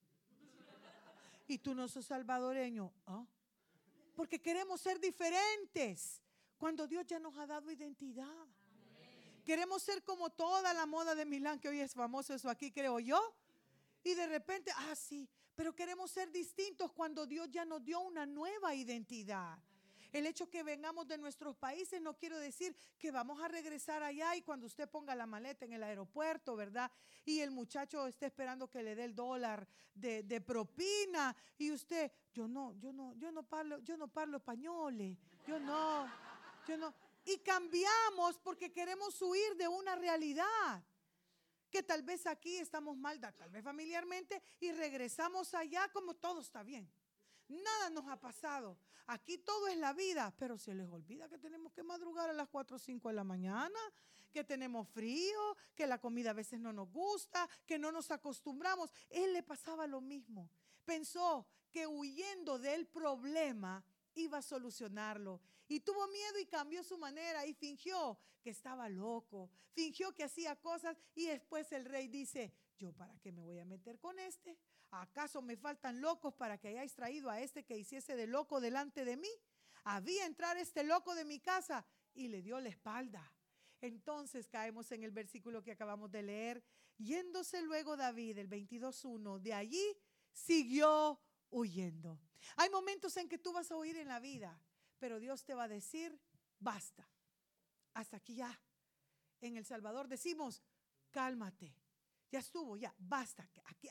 ¿Y tú no sos salvadoreño? Porque queremos ser diferentes cuando Dios ya nos ha dado identidad. Amén. Queremos ser como toda la moda de Milán, que hoy es famoso eso aquí, creo yo. Y de repente, sí, pero queremos ser distintos cuando Dios ya nos dio una nueva identidad. El hecho que vengamos de nuestros países no quiere decir que vamos a regresar allá y cuando usted ponga la maleta en el aeropuerto, ¿verdad? Y el muchacho esté esperando que le dé el $1 de propina y usted, yo no parlo español, yo no. Y cambiamos porque queremos huir de una realidad. Que tal vez aquí estamos mal, tal vez familiarmente, y regresamos allá como todo está bien. Nada nos ha pasado. Aquí todo es la vida, pero se les olvida que tenemos que madrugar a las 4 o 5 de la mañana, que tenemos frío, que la comida a veces no nos gusta, que no nos acostumbramos. Él le pasaba lo mismo. Pensó que huyendo del problema iba a solucionarlo. Y tuvo miedo y cambió su manera y fingió que estaba loco, fingió que hacía cosas y después el rey dice, ¿yo para qué me voy a meter con este? ¿Acaso me faltan locos para que hayáis traído a este que hiciese de loco delante de mí? Había entrar este loco de mi casa y le dio la espalda. Entonces caemos en el versículo que acabamos de leer. Yéndose luego David, el 22:1, de allí siguió huyendo. Hay momentos en que tú vas a huir en la vida, pero Dios te va a decir, basta, hasta aquí ya. En El Salvador decimos, cálmate, ya estuvo, ya, basta,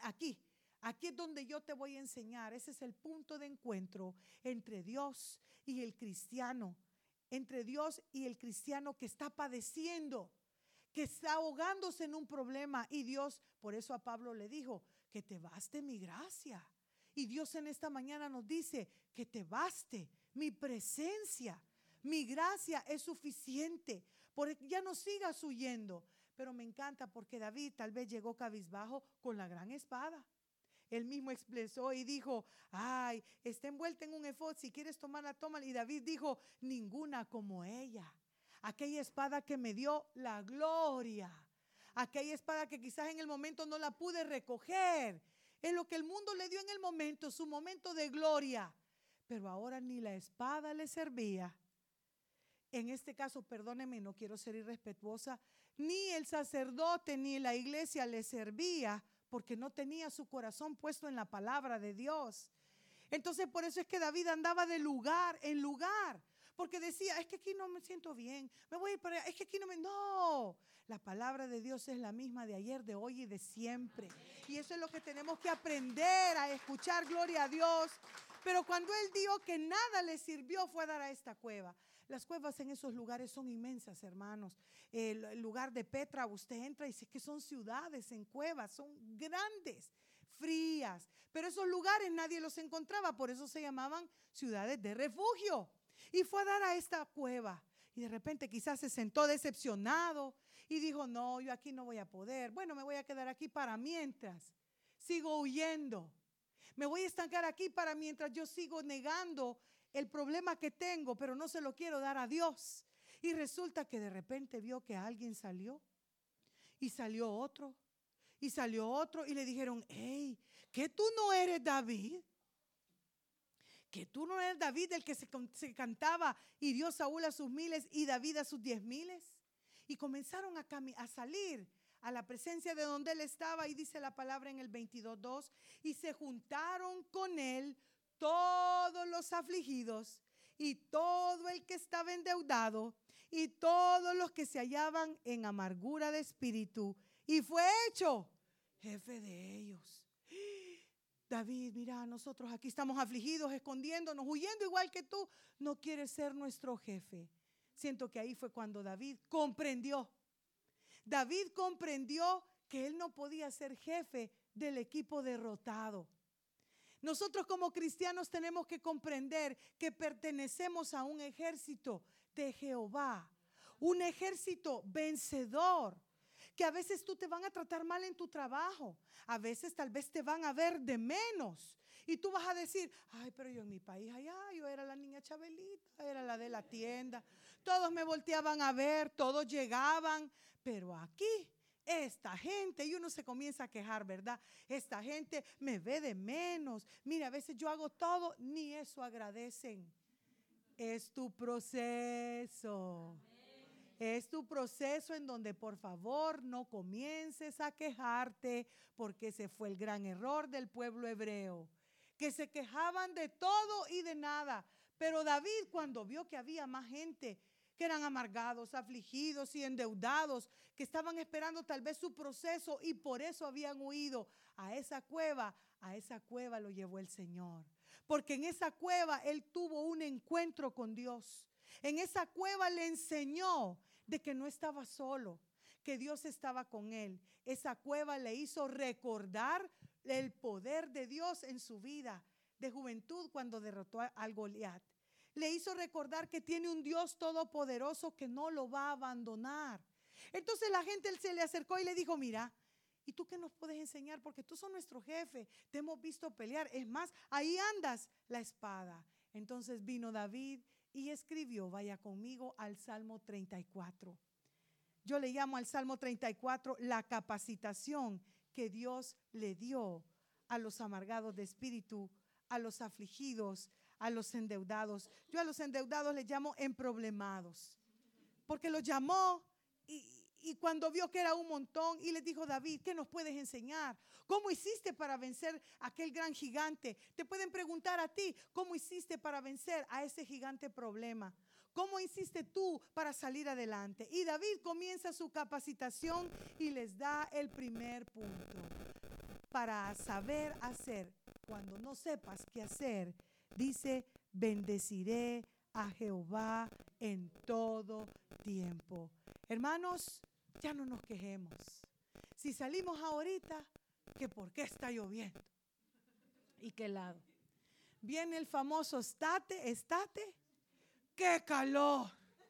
aquí es donde yo te voy a enseñar. Ese es el punto de encuentro entre Dios y el cristiano, entre Dios y el cristiano que está padeciendo, que está ahogándose en un problema. Y Dios, por eso a Pablo le dijo, que te baste mi gracia. Y Dios en esta mañana nos dice, que te baste mi presencia, mi gracia es suficiente, porque ya no sigas huyendo. Pero me encanta porque David tal vez llegó cabizbajo con la gran espada. Él mismo expresó y dijo, ay, está envuelta en un efod, si quieres tomarla, tómala. Y David dijo, ninguna como ella. Aquella espada que me dio la gloria. Aquella espada que quizás en el momento no la pude recoger. Es lo que el mundo le dio en el momento, su momento de gloria. Pero ahora ni la espada le servía. En este caso, perdóneme, no quiero ser irrespetuosa, ni el sacerdote ni la iglesia le servía porque no tenía su corazón puesto en la palabra de Dios. Entonces por eso es que David andaba de lugar en lugar, porque decía, es que aquí no me siento bien, me voy a ir para allá, es que aquí no me... No, la palabra de Dios es la misma de ayer, de hoy y de siempre. Y eso es lo que tenemos que aprender a escuchar, gloria a Dios. Pero cuando él dijo que nada le sirvió, fue a dar a esta cueva. Las cuevas en esos lugares son inmensas, hermanos. El lugar de Petra, usted entra y dice que son ciudades en cuevas, son grandes, frías. Pero esos lugares nadie los encontraba, por eso se llamaban ciudades de refugio. Y fue a dar a esta cueva. Y de repente quizás se sentó decepcionado y dijo, no, yo aquí no voy a poder. Bueno, me voy a quedar aquí para mientras. Sigo huyendo. Me voy a estancar aquí para mientras yo sigo negando el problema que tengo, pero no se lo quiero dar a Dios. Y resulta que de repente vio que alguien salió y salió otro y salió otro y le dijeron, hey, ¿que tú no eres David? ¿Que tú no eres David el que se cantaba y dio Saúl a sus 1000 y David a sus 10,000? Y comenzaron a salir a la presencia de donde él estaba y dice la palabra en el 22:2, y se juntaron con él todos los afligidos y todo el que estaba endeudado y todos los que se hallaban en amargura de espíritu, y fue hecho jefe de ellos. David, mira, nosotros aquí estamos afligidos, escondiéndonos, huyendo igual que tú. No quieres ser nuestro jefe. Siento que ahí fue cuando David comprendió. David comprendió que él no podía ser jefe del equipo derrotado. Nosotros como cristianos tenemos que comprender que pertenecemos a un ejército de Jehová, un ejército vencedor, que a veces tú te van a tratar mal en tu trabajo, a veces tal vez te van a ver de menos y tú vas a decir, ay, pero yo en mi país allá, yo era la niña Chabelita, era la de la tienda, todos me volteaban a ver, todos llegaban, pero aquí esta gente, y uno se comienza a quejar, ¿verdad? Esta gente me ve de menos. Mira, a veces yo hago todo, ni eso agradecen. Es tu proceso. Es tu proceso en donde por favor no comiences a quejarte, porque ese fue el gran error del pueblo hebreo, que se quejaban de todo y de nada. Pero David, cuando vio que había más gente que eran amargados, afligidos y endeudados, que estaban esperando tal vez su proceso y por eso habían huido a esa cueva lo llevó el Señor. Porque en esa cueva él tuvo un encuentro con Dios. En esa cueva le enseñó de que no estaba solo, que Dios estaba con él. Esa cueva le hizo recordar el poder de Dios en su vida. de juventud cuando derrotó al Goliat. Le hizo recordar que tiene un Dios todopoderoso que no lo va a abandonar. Entonces la gente se le acercó y le dijo, mira, ¿y tú qué nos puedes enseñar? Porque tú sos nuestro jefe, te hemos visto pelear. Es más, ahí andas la espada. Entonces vino David y escribió, vaya conmigo al Salmo 34. Yo le llamo al Salmo 34 la capacitación que Dios le dio a los amargados de espíritu, a los afligidos, a los endeudados. Yo a los endeudados les llamo emproblemados, porque los llamó y cuando vio que era un montón y les dijo, David, ¿qué nos puedes enseñar? ¿Cómo hiciste para vencer a aquel gran gigante? Te pueden preguntar a ti, ¿cómo hiciste para vencer a ese gigante problema? ¿Cómo hiciste tú para salir adelante? Y David comienza su capacitación y les da el primer punto. Para saber hacer, cuando no sepas qué hacer, dice, bendeciré a Jehová en todo tiempo. Hermanos, ya no nos quejemos. Si salimos ahorita, que por qué está lloviendo. ¿Y qué lado? Viene el famoso estate, ¡qué calor!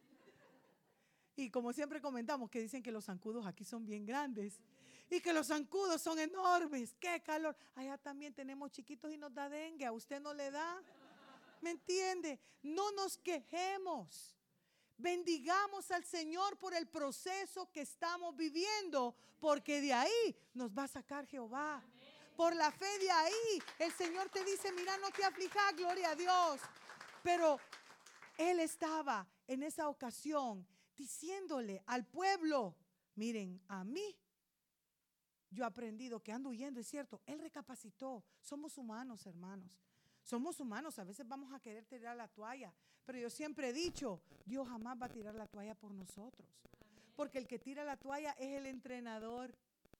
Y como siempre comentamos que dicen que los zancudos aquí son bien grandes y que los zancudos son enormes, ¡qué calor! Allá también tenemos chiquitos y nos da dengue, ¿a usted no le da? ¿Me entiende? No nos quejemos. Bendigamos al Señor por el proceso que estamos viviendo, porque de ahí nos va a sacar Jehová. Amén. Por la fe de ahí, el Señor te dice, mira, no te aflijas, gloria a Dios. Pero Él estaba en esa ocasión diciéndole al pueblo, miren, a mí, yo he aprendido que ando huyendo, es cierto. Él recapacitó. Somos humanos, hermanos. Somos humanos, a veces vamos a querer tirar la toalla, pero yo siempre he dicho, Dios jamás va a tirar la toalla por nosotros, porque el que tira la toalla es el entrenador,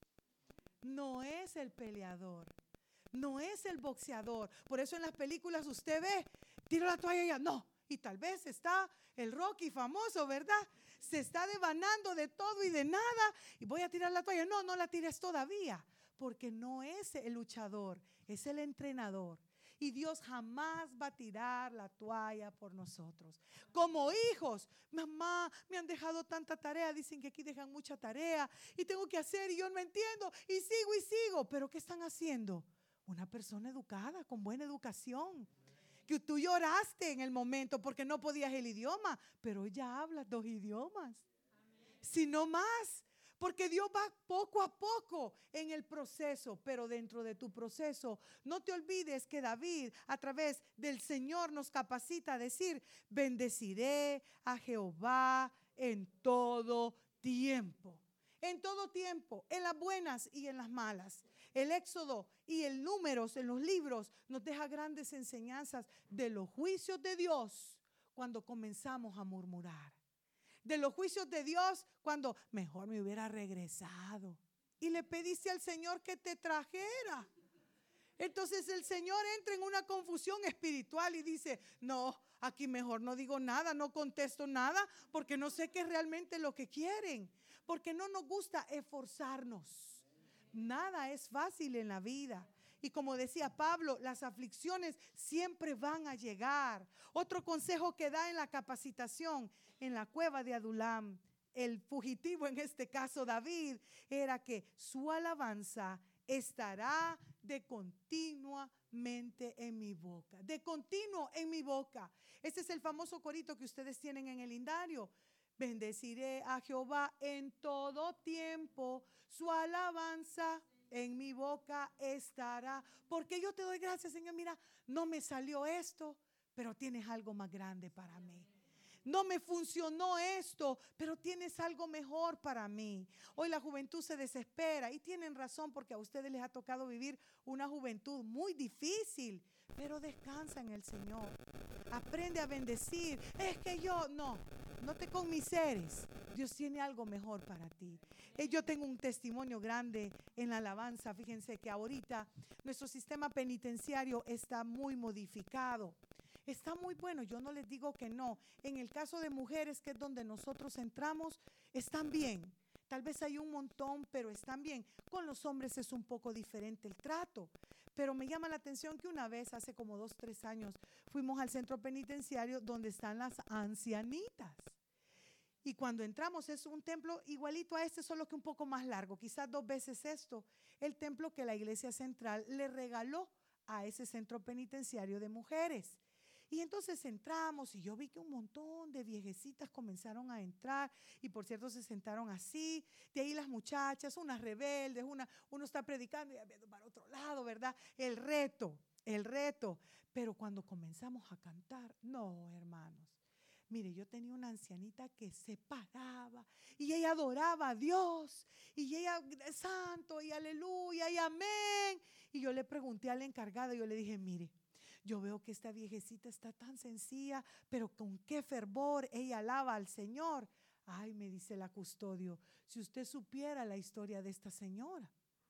no es el peleador, no es el boxeador. Por eso en las películas usted ve, tira la toalla y ya, no, y tal vez está el Rocky famoso, ¿verdad? Se está devanando de todo y de nada, y voy a tirar la toalla, no la tires todavía, porque no es el luchador, es el entrenador. Y Dios jamás va a tirar la toalla por nosotros. Como hijos, mamá, me han dejado tanta tarea. Dicen que aquí dejan mucha tarea y tengo que hacer y yo no entiendo y sigo. ¿Pero qué están haciendo? Una persona educada, con buena educación. Que tú lloraste en el momento porque no podías el idioma, pero ella habla 2 idiomas. Si no más. Porque Dios va poco a poco en el proceso, pero dentro de tu proceso, no te olvides que David a través del Señor nos capacita a decir, bendeciré a Jehová en todo tiempo. En todo tiempo, en las buenas y en las malas. El Éxodo y el Números en los libros nos deja grandes enseñanzas de los juicios de Dios cuando comenzamos a murmurar. De los juicios de Dios cuando mejor me hubiera regresado y le pediste al Señor que te trajera. Entonces el Señor entra en una confusión espiritual y dice, no, aquí mejor no digo nada, no contesto nada porque no sé qué es realmente lo que quieren, porque no nos gusta esforzarnos. Nada es fácil en la vida. Y como decía Pablo, las aflicciones siempre van a llegar. Otro consejo que da en la capacitación en la cueva de Adulam, el fugitivo en este caso David, era que su alabanza estará de continuamente en mi boca. De continuo en mi boca. Este es el famoso corito que ustedes tienen en el lindario. Bendeciré a Jehová en todo tiempo, su alabanza en mi boca estará. Porque yo te doy gracias, Señor. Mira, no me salió esto, pero tienes algo más grande para mí. No me funcionó esto, pero tienes algo mejor para mí. Hoy la juventud se desespera y tienen razón porque a ustedes les ha tocado vivir una juventud muy difícil, pero descansa en el Señor. Aprende a bendecir. Es que yo, no te conmiseres. Dios tiene algo mejor para ti. Yo tengo un testimonio grande en la alabanza. Fíjense que ahorita nuestro sistema penitenciario está muy modificado. Está muy bueno, yo no les digo que no. En el caso de mujeres, que es donde nosotros entramos, están bien. Tal vez hay un montón, pero están bien. Con los hombres es un poco diferente el trato. Pero me llama la atención que una vez, hace como 2, 3 años, fuimos al centro penitenciario donde están las ancianitas. Y cuando entramos es un templo igualito a este, solo que un poco más largo, quizás 2 veces esto, el templo que la iglesia central le regaló a ese centro penitenciario de mujeres. Y entonces entramos y yo vi que un montón de viejecitas comenzaron a entrar y por cierto se sentaron así, de ahí las muchachas, unas rebeldes, uno está predicando y viendo para otro lado, ¿verdad? El reto. Pero cuando comenzamos a cantar, no, hermanos. Mire, yo tenía una ancianita que se paraba y ella adoraba a Dios y ella, santo y aleluya y amén. Y yo le pregunté al encargado, yo le dije, mire, yo veo que esta viejecita está tan sencilla, pero con qué fervor ella alaba al Señor. Ay, me dice la custodio, si usted supiera la historia de esta señora.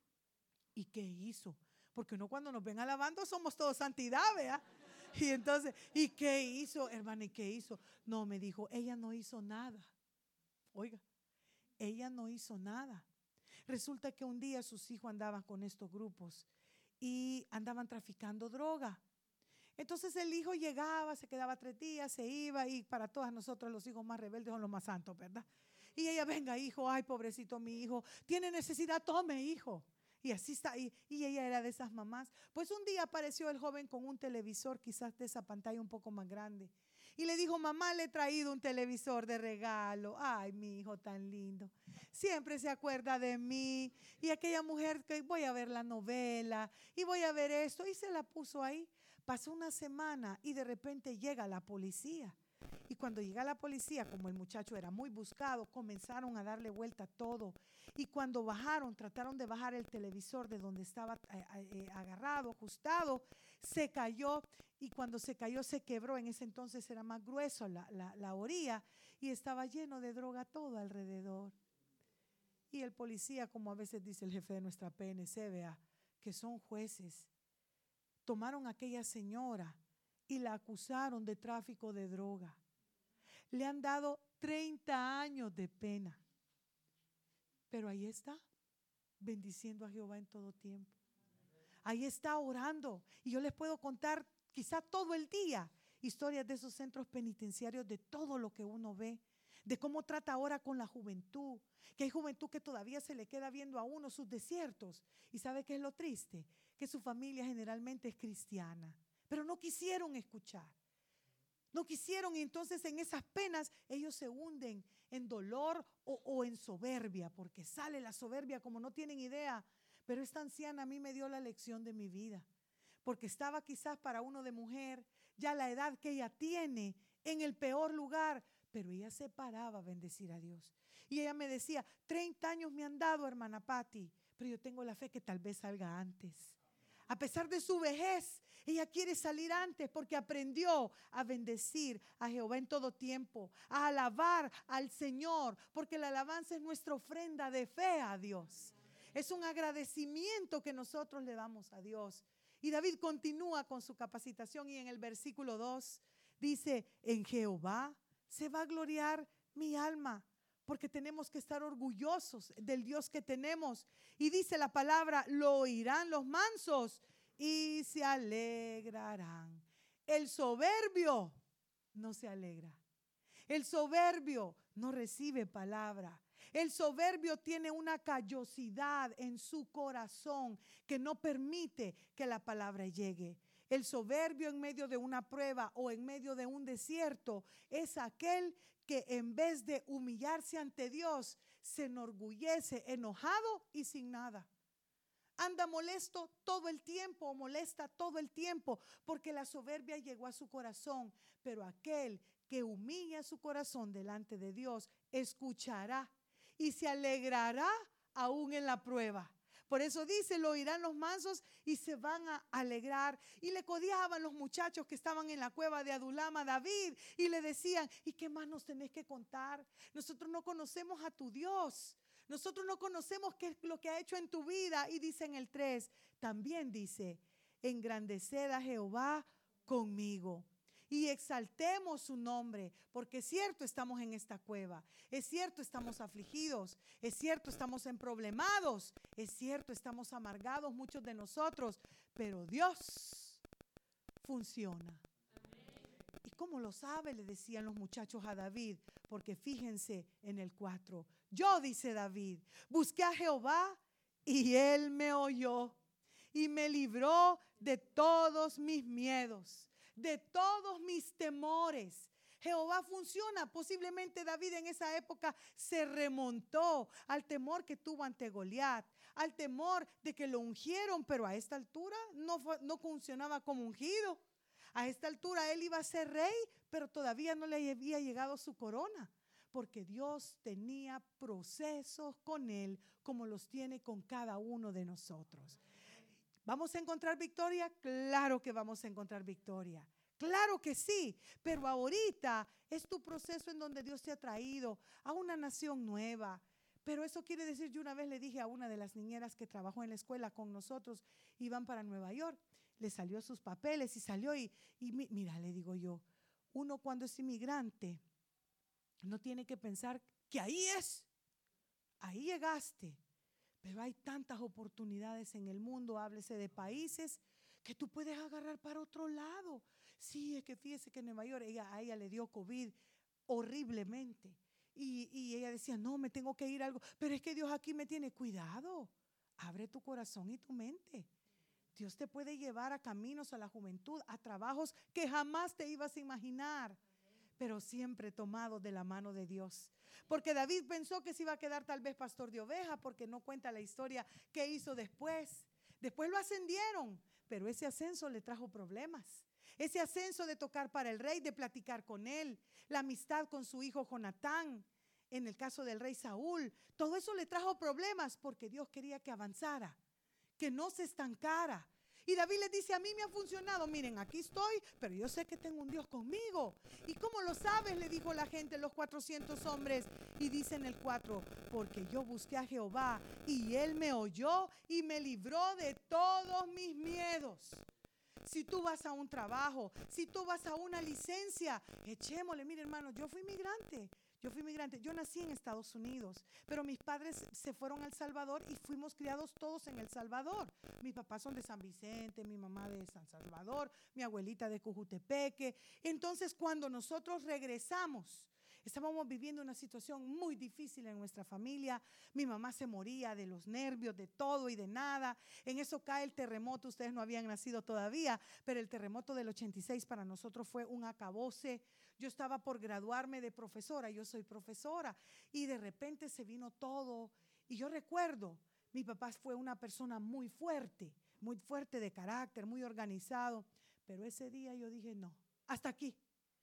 ¿Y qué hizo? Porque uno cuando nos ven alabando somos todos santidad, ¿verdad? Y entonces, ¿y qué hizo, hermana? ¿Y qué hizo? No, me dijo, ella no hizo nada. Oiga, ella no hizo nada. Resulta que un día sus hijos andaban con estos grupos y andaban traficando droga. Entonces el hijo llegaba, se quedaba 3 días, se iba y para todas nosotros los hijos más rebeldes son los más santos, ¿verdad? Y ella, venga hijo, ay pobrecito mi hijo, tiene necesidad, tome hijo. Y así está, y ella era de esas mamás. Pues un día apareció el joven con un televisor, quizás de esa pantalla un poco más grande. Y le dijo, mamá, le he traído un televisor de regalo. Ay, mi hijo tan lindo. Siempre se acuerda de mí. Y aquella mujer que voy a ver la novela y voy a ver esto. Y se la puso ahí. Pasó una semana y de repente llega la policía. Y cuando llega la policía, como el muchacho era muy buscado, comenzaron a darle vuelta a todo. Y cuando bajaron, trataron de bajar el televisor de donde estaba agarrado, ajustado, se cayó. Y cuando se cayó, se quebró. En ese entonces era más grueso la orilla y estaba lleno de droga todo alrededor. Y el policía, como a veces dice el jefe de nuestra PNC, vea, que son jueces, tomaron a aquella señora y la acusaron de tráfico de droga. Le han dado 30 años de pena. Pero ahí está, bendiciendo a Jehová en todo tiempo. Ahí está orando. Y yo les puedo contar quizá todo el día historias de esos centros penitenciarios, de todo lo que uno ve, de cómo trata ahora con la juventud, que hay juventud que todavía se le queda viendo a uno sus desiertos. ¿Y sabe qué es lo triste? Que su familia generalmente es cristiana, pero no quisieron escuchar. No quisieron, y entonces en esas penas ellos se hunden en dolor o en soberbia, porque sale la soberbia como no tienen idea. Pero esta anciana a mí me dio la lección de mi vida, porque estaba quizás para uno de mujer, ya la edad que ella tiene, en el peor lugar, pero ella se paraba a bendecir a Dios. Y ella me decía, 30 años me han dado, hermana Patti, pero yo tengo la fe que tal vez salga antes. A pesar de su vejez, ella quiere salir antes porque aprendió a bendecir a Jehová en todo tiempo, a alabar al Señor, porque la alabanza es nuestra ofrenda de fe a Dios. Es un agradecimiento que nosotros le damos a Dios. Y David continúa con su capacitación y en el versículo 2 dice, en Jehová se va a gloriar mi alma, porque tenemos que estar orgullosos del Dios que tenemos. Y dice la palabra, lo oirán los mansos y se alegrarán. El soberbio no se alegra. El soberbio no recibe palabra. El soberbio tiene una callosidad en su corazón que no permite que la palabra llegue. El soberbio en medio de una prueba o en medio de un desierto es aquel que en vez de humillarse ante Dios, se enorgullece, enojado y sin nada. Anda molesto todo el tiempo o molesta todo el tiempo porque la soberbia llegó a su corazón. Pero aquel que humilla su corazón delante de Dios, escuchará y se alegrará aún en la prueba. Por eso dice, lo oirán los mansos y se van a alegrar. Y le codiaban los muchachos que estaban en la cueva de Adulam a David y le decían, ¿y qué más nos tenés que contar? Nosotros no conocemos a tu Dios. Nosotros no conocemos qué es lo que ha hecho en tu vida. Y dice en el 3, también dice, engrandeced a Jehová conmigo. y exaltemos su nombre, porque es cierto, estamos en esta cueva, es cierto, estamos afligidos, es cierto, estamos emproblemados, es cierto, estamos amargados muchos de nosotros, pero Dios funciona. ¿Y cómo lo sabe? Le decían los muchachos a David, porque fíjense en el 4. Yo, dice David, busqué a Jehová y él me oyó y me libró de todos mis miedos, de todos mis temores. Jehová funciona. Posiblemente David en esa época se remontó al temor que tuvo ante Goliat, al temor de que lo ungieron, pero a esta altura no funcionaba como ungido. A esta altura él iba a ser rey, pero todavía no le había llegado su corona, porque Dios tenía procesos con él como los tiene con cada uno de nosotros. ¿Vamos a encontrar victoria? Claro que vamos a encontrar victoria. Claro que sí, pero ahorita es tu proceso en donde Dios te ha traído a una nación nueva. Pero eso quiere decir, yo una vez le dije a una de las niñeras que trabajó en la escuela con nosotros, iban para Nueva York, le salió sus papeles y salió y mira, le digo yo, uno cuando es inmigrante no tiene que pensar que ahí llegaste. Pero hay tantas oportunidades en el mundo, háblese de países, que tú puedes agarrar para otro lado. Sí, es que fíjese que en Nueva York a ella le dio COVID horriblemente. Y ella decía, no, me tengo que ir a algo. Pero es que Dios aquí me tiene cuidado. Abre tu corazón y tu mente. Dios te puede llevar a caminos, a la juventud, a trabajos que jamás te ibas a imaginar, pero siempre tomado de la mano de Dios. Porque David pensó que se iba a quedar tal vez pastor de ovejas, porque no cuenta la historia que hizo después. Después lo ascendieron, pero ese ascenso le trajo problemas. Ese ascenso de tocar para el rey, de platicar con él, la amistad con su hijo Jonatán, en el caso del rey Saúl, todo eso le trajo problemas porque Dios quería que avanzara, que no se estancara. Y David les dice, a mí me ha funcionado, miren, aquí estoy, pero yo sé que tengo un Dios conmigo. ¿Y cómo lo sabes? Le dijo la gente, los 400 hombres. Y dice en el 4, porque yo busqué a Jehová y él me oyó y me libró de todos mis miedos. Si tú vas a un trabajo, si tú vas a una licencia, echémosle, mire hermano, yo fui migrante, yo nací en Estados Unidos, pero mis padres se fueron a El Salvador y fuimos criados todos en El Salvador. Mis papás son de San Vicente, mi mamá de San Salvador, mi abuelita de Cojutepeque. Entonces cuando nosotros regresamos, estábamos viviendo una situación muy difícil en nuestra familia. Mi mamá se moría de los nervios, de todo y de nada. En eso cae el terremoto. Ustedes no habían nacido todavía, pero el terremoto del 86 para nosotros fue un acabose. Yo estaba por graduarme de profesora, yo soy profesora, y de repente se vino todo. Y yo recuerdo, mi papá fue una persona muy fuerte de carácter, muy organizado. Pero ese día yo dije, no, hasta aquí.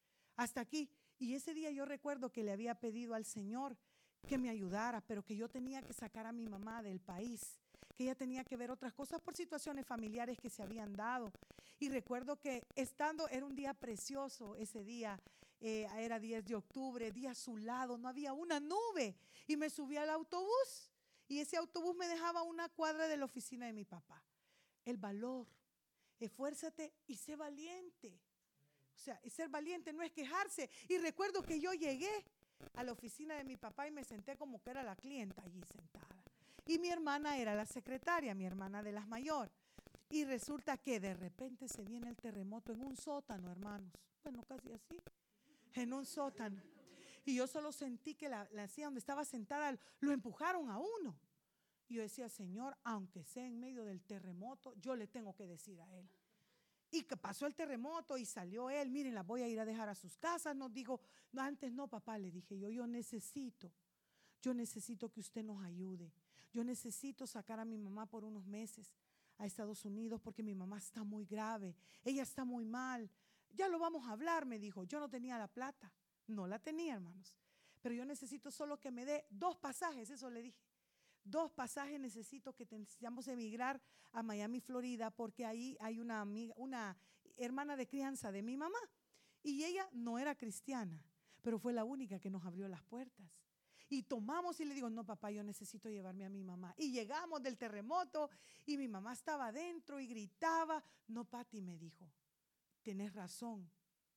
Y ese día yo recuerdo que le había pedido al Señor que me ayudara, pero que yo tenía que sacar a mi mamá del país, que ella tenía que ver otras cosas por situaciones familiares que se habían dado. Y recuerdo que era un día precioso ese día, era 10 de octubre, día azulado, no había una nube. Y me subí al autobús y ese autobús me dejaba a una cuadra de la oficina de mi papá. El valor, esfuérzate y sé valiente. O sea, ser valiente no es quejarse. Y recuerdo que yo llegué a la oficina de mi papá y me senté como que era la clienta allí sentada. Y mi hermana era la secretaria, mi hermana de las mayores. Y resulta que de repente se viene el terremoto en un sótano, hermanos. Bueno, casi así, en un sótano. Y yo solo sentí que la silla donde estaba sentada lo empujaron a uno. Y yo decía, Señor, aunque sea en medio del terremoto, yo le tengo que decir a él. Y que pasó el terremoto y salió él, miren, la voy a ir a dejar a sus casas. Nos dijo, no, antes no, papá, le dije yo necesito que usted nos ayude. Yo necesito sacar a mi mamá por unos meses a Estados Unidos porque mi mamá está muy grave, ella está muy mal. Ya lo vamos a hablar, me dijo. Yo no tenía la plata, no la tenía, hermanos. Pero yo necesito solo que me dé 2 pasajes, eso le dije. 2 pasajes necesito, que necesitamos emigrar a Miami, Florida, porque ahí hay una amiga, una hermana de crianza de mi mamá. Y ella no era cristiana, pero fue la única que nos abrió las puertas. Y tomamos y le digo, no papá, yo necesito llevarme a mi mamá. Y llegamos del terremoto y mi mamá estaba adentro y gritaba. No, Pati, me dijo, tenés razón,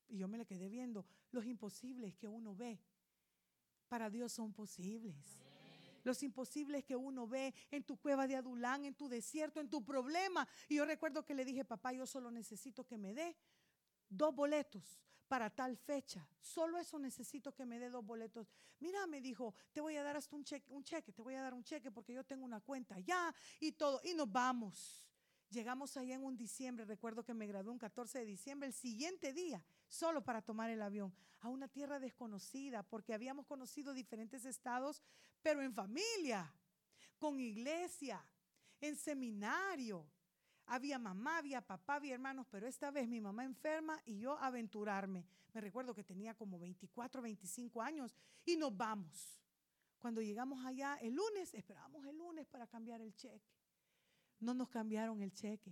Y yo me le quedé viendo. Los imposibles que uno ve, para Dios son posibles. Los imposibles que uno ve en tu cueva de Adulán, en tu desierto, en tu problema. Y yo recuerdo que le dije, papá, yo solo necesito que me dé 2 boletos para tal fecha. Solo eso necesito, que me dé 2 boletos. Mira, me dijo, te voy a dar hasta un cheque, te voy a dar un cheque porque yo tengo una cuenta allá y todo. Y nos vamos. Llegamos allá en un diciembre, recuerdo que me gradué un 14 de diciembre, el siguiente día, solo para tomar el avión, a una tierra desconocida, porque habíamos conocido diferentes estados, pero en familia, con iglesia, en seminario. Había mamá, había papá, había hermanos, pero esta vez mi mamá enferma y yo aventurarme. Me recuerdo que tenía como 24, 25 años y nos vamos. Cuando llegamos allá el lunes, esperábamos el lunes para cambiar el cheque. No nos cambiaron el cheque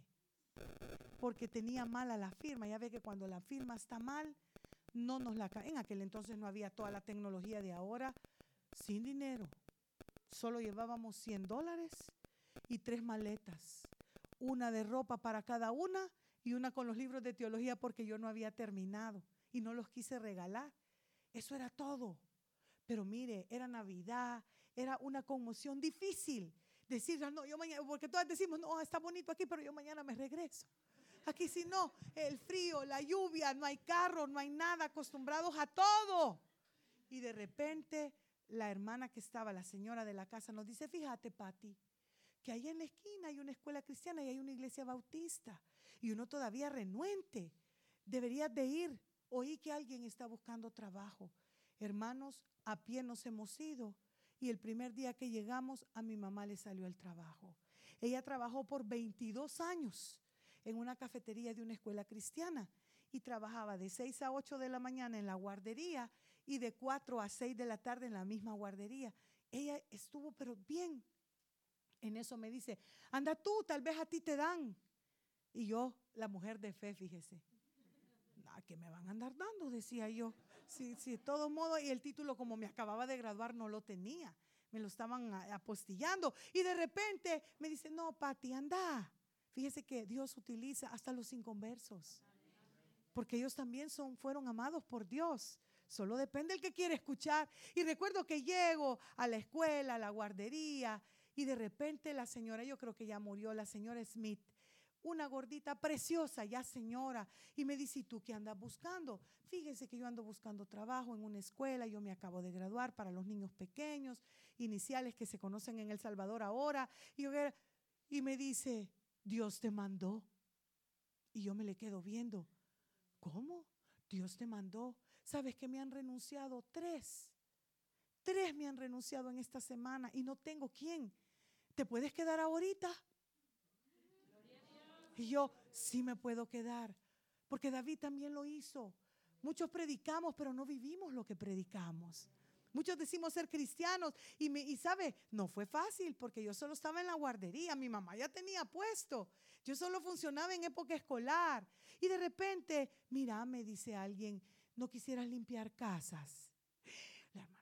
porque tenía mala la firma. Ya ve que cuando la firma está mal, no nos la cambian. En aquel entonces no había toda la tecnología de ahora. Sin dinero. Solo llevábamos $100 y 3 maletas. Una de ropa para cada una y una con los libros de teología porque yo no había terminado y no los quise regalar. Eso era todo. Pero mire, era Navidad, era una conmoción difícil. Decir, no, yo mañana, porque todas decimos, no, está bonito aquí, pero yo mañana me regreso. Aquí si no, el frío, la lluvia, no hay carro, no hay nada, acostumbrados a todo. Y de repente la hermana que estaba, la señora de la casa, nos dice, fíjate, Pati, que ahí en la esquina hay una escuela cristiana y hay una iglesia bautista. Y uno todavía renuente. Deberías de ir. Oí que alguien está buscando trabajo. Hermanos, a pie nos hemos ido. Y el primer día que llegamos, a mi mamá le salió el trabajo. Ella trabajó por 22 años en una cafetería de una escuela cristiana y trabajaba de 6 a 8 de la mañana en la guardería y de 4 a 6 de la tarde en la misma guardería. Ella estuvo pero bien. En eso me dice, anda tú, tal vez a ti te dan. Y yo, la mujer de fe, fíjese, ¿qué me van a andar dando? Decía yo. Sí, de todos modos, y el título, como me acababa de graduar, no lo tenía. Me lo estaban apostillando. Y de repente me dice, no, Pati, anda. Fíjese que Dios utiliza hasta los inconversos. Porque ellos también fueron amados por Dios. Solo depende el que quiere escuchar. Y recuerdo que llego a la escuela, a la guardería, y de repente la señora, yo creo que ya murió, la señora Smith, una gordita preciosa, ya señora, y me dice, ¿y tú qué andas buscando? Fíjese que yo ando buscando trabajo en una escuela, yo me acabo de graduar para los niños pequeños, iniciales que se conocen en El Salvador ahora, y me dice, Dios te mandó. Y yo me le quedo viendo, ¿cómo? Dios te mandó. ¿Sabes que me han renunciado 3? 3 me han renunciado en esta semana y no tengo quién. ¿Te puedes quedar ahorita? Y yo, sí me puedo quedar, porque David también lo hizo. Muchos predicamos, pero no vivimos lo que predicamos. Muchos decimos ser cristianos y sabe, no fue fácil porque yo solo estaba en la guardería, mi mamá ya tenía puesto, yo solo funcionaba en época escolar. Y de repente, mira, me dice alguien, ¿no quisieras limpiar casas? La hermana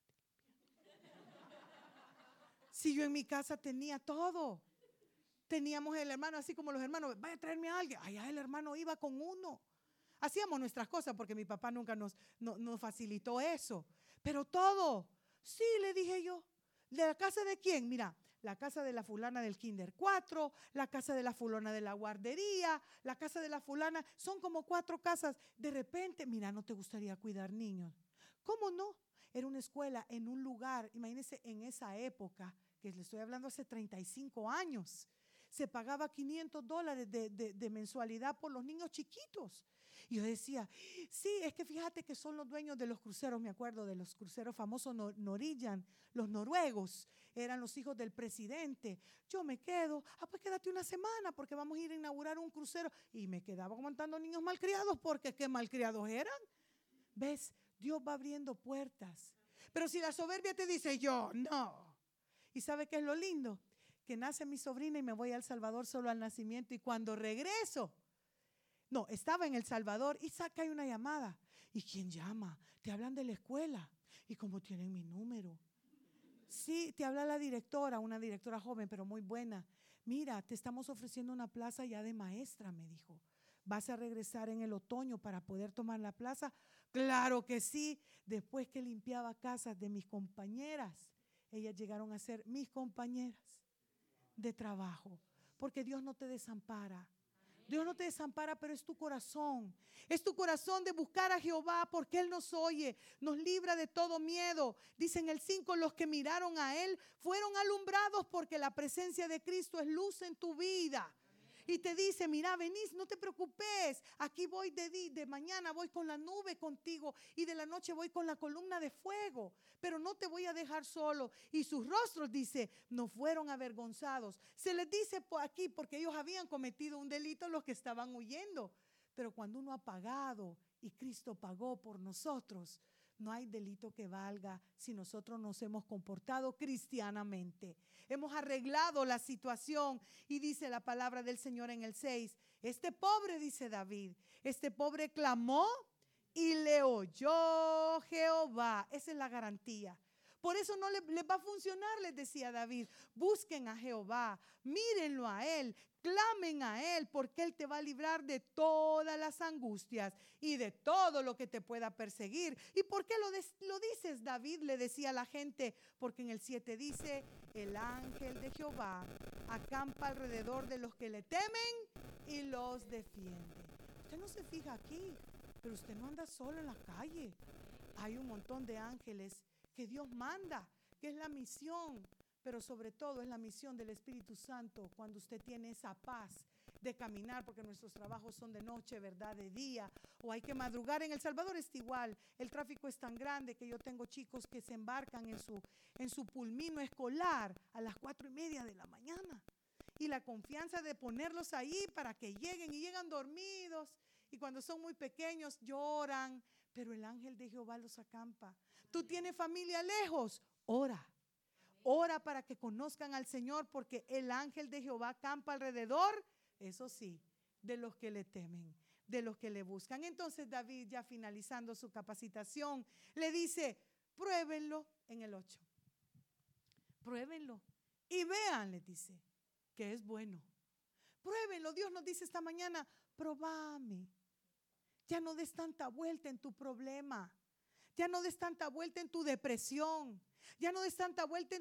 Pati. Si yo en mi casa tenía todo. Teníamos el hermano, así como los hermanos, vaya a traerme a alguien. Allá el hermano iba con uno. Hacíamos nuestras cosas porque mi papá nunca nos facilitó eso. Pero todo, sí, le dije yo. ¿De la casa de quién? Mira, la casa de la fulana del Kinder 4, la casa de la fulana de la guardería, la casa de la fulana. Son como 4 casas. De repente, mira, ¿no te gustaría cuidar niños? ¿Cómo no? Era una escuela en un lugar, imagínense en esa época, que le estoy hablando hace 35 años. Se pagaba $500 de mensualidad por los niños chiquitos. Y yo decía, sí, es que fíjate que son los dueños de los cruceros, me acuerdo de los cruceros famosos Norwegian, los noruegos, eran los hijos del presidente. Yo me quedo, pues quédate una semana porque vamos a ir a inaugurar un crucero. Y me quedaba aguantando niños malcriados porque qué malcriados eran. ¿Ves? Dios va abriendo puertas. Pero si la soberbia te dice, yo no. ¿Y sabe qué es lo lindo? Que nace mi sobrina y me voy a El Salvador solo al nacimiento y cuando regreso, no, estaba en El Salvador y saca una llamada. ¿Y quién llama? Te hablan de la escuela. ¿Y cómo tienen mi número? Sí, te habla la directora, una directora joven pero muy buena. Mira, te estamos ofreciendo una plaza ya de maestra, me dijo. ¿Vas a regresar en el otoño para poder tomar la plaza? Claro que sí. Después que limpiaba casas de mis compañeras, ellas llegaron a ser mis compañeras de trabajo, porque Dios no te desampara. Dios no te desampara, pero es tu corazón. Es tu corazón de buscar a Jehová porque Él nos oye, nos libra de todo miedo. Dice en el 5, los que miraron a Él fueron alumbrados porque la presencia de Cristo es luz en tu vida. Y te dice, mira, venís, no te preocupes, aquí voy de mañana voy con la nube contigo y de la noche voy con la columna de fuego, pero no te voy a dejar solo. Y sus rostros, dice, no fueron avergonzados. Se les dice por aquí porque ellos habían cometido un delito los que estaban huyendo, pero cuando uno ha pagado y Cristo pagó por nosotros, no hay delito que valga si nosotros nos hemos comportado cristianamente. Hemos arreglado la situación y dice la palabra del Señor en el 6. Este pobre, dice David, este pobre clamó y le oyó Jehová. Esa es la garantía. Por eso no les va a funcionar, les decía David. Busquen a Jehová, mírenlo a Él, clamen a Él, porque Él te va a librar de todas las angustias y de todo lo que te pueda perseguir. ¿Y por qué lo dices, David? Le decía a la gente, porque en el 7 dice, el ángel de Jehová acampa alrededor de los que le temen y los defiende. Usted no se fija aquí, pero usted no anda solo en la calle. Hay un montón de ángeles que Dios manda, que es la misión, pero sobre todo es la misión del Espíritu Santo cuando usted tiene esa paz de caminar, porque nuestros trabajos son de noche, ¿verdad? De día, o hay que madrugar. En El Salvador es igual, el tráfico es tan grande que yo tengo chicos que se embarcan en su pulmino escolar a las 4:30 de la mañana, y la confianza de ponerlos ahí para que lleguen, y llegan dormidos, y cuando son muy pequeños lloran, pero el ángel de Jehová los acampa. Tú tienes familia lejos, ora. Ora para que conozcan al Señor, porque el ángel de Jehová acampa alrededor, eso sí, de los que le temen, de los que le buscan. Entonces David, ya finalizando su capacitación, le dice, pruébenlo en el 8. Pruébenlo y vean, le dice, que es bueno. Pruébenlo. Dios nos dice esta mañana, probame. Ya no des tanta vuelta en tu problema. Ya no des tanta vuelta en tu depresión. Ya no des tanta vuelta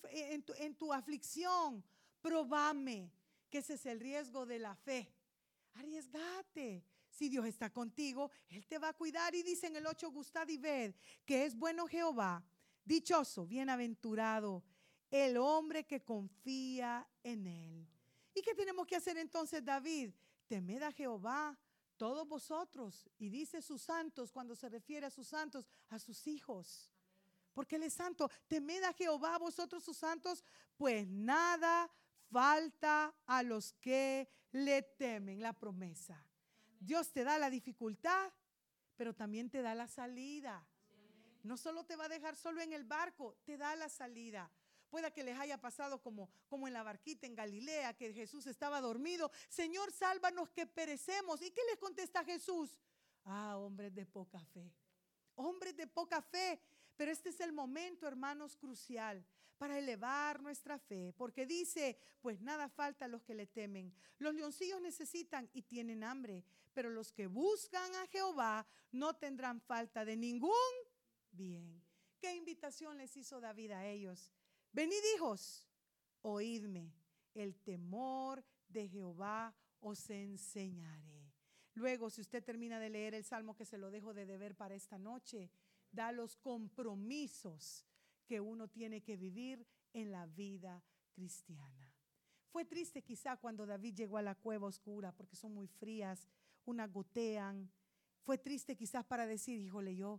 en tu aflicción. Probame, que ese es el riesgo de la fe. Arriesgate. Si Dios está contigo, Él te va a cuidar. Y dice en el 8, gustad y ved que es bueno Jehová. Dichoso, bienaventurado el hombre que confía en Él. ¿Y qué tenemos que hacer entonces, David? Temed a Jehová, todos vosotros. Y dice sus santos, cuando se refiere a sus santos, a sus hijos. Porque Él es santo. Temed a Jehová, vosotros sus santos, pues nada falta a los que le temen. La promesa. Dios te da la dificultad, pero también te da la salida. No solo te va a dejar solo en el barco, te da la salida. Pueda que les haya pasado como en la barquita en Galilea, que Jesús estaba dormido. Señor, sálvanos que perecemos. ¿Y qué les contesta Jesús? Ah, hombres de poca fe. Hombres de poca fe. Pero este es el momento, hermanos, crucial para elevar nuestra fe. Porque dice, pues nada falta a los que le temen. Los leoncillos necesitan y tienen hambre. Pero los que buscan a Jehová no tendrán falta de ningún bien. ¿Qué invitación les hizo David a ellos? Venid, hijos, oídme, el temor de Jehová os enseñaré. Luego, si usted termina de leer el salmo, que se lo dejo de deber para esta noche, da los compromisos que uno tiene que vivir en la vida cristiana. Fue triste quizá cuando David llegó a la cueva oscura, porque son muy frías, unas gotean. Fue triste quizás para decir, híjole, yo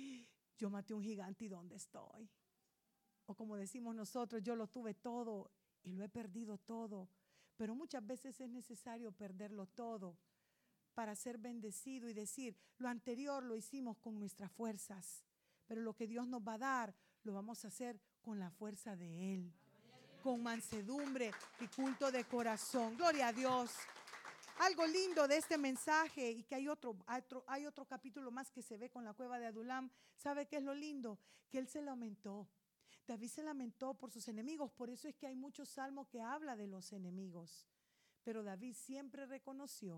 maté un gigante y ¿dónde estoy? O como decimos nosotros, yo lo tuve todo y lo he perdido todo. Pero muchas veces es necesario perderlo todo para ser bendecido y decir, lo anterior lo hicimos con nuestras fuerzas, pero lo que Dios nos va a dar, lo vamos a hacer con la fuerza de Él, con mansedumbre y culto de corazón. Gloria a Dios. Algo lindo de este mensaje, y que hay otro capítulo más que se ve con la cueva de Adulam. ¿Sabe qué es lo lindo? Que él se lamentó. David se lamentó por sus enemigos, por eso es que hay muchos salmos que habla de los enemigos. Pero David siempre reconoció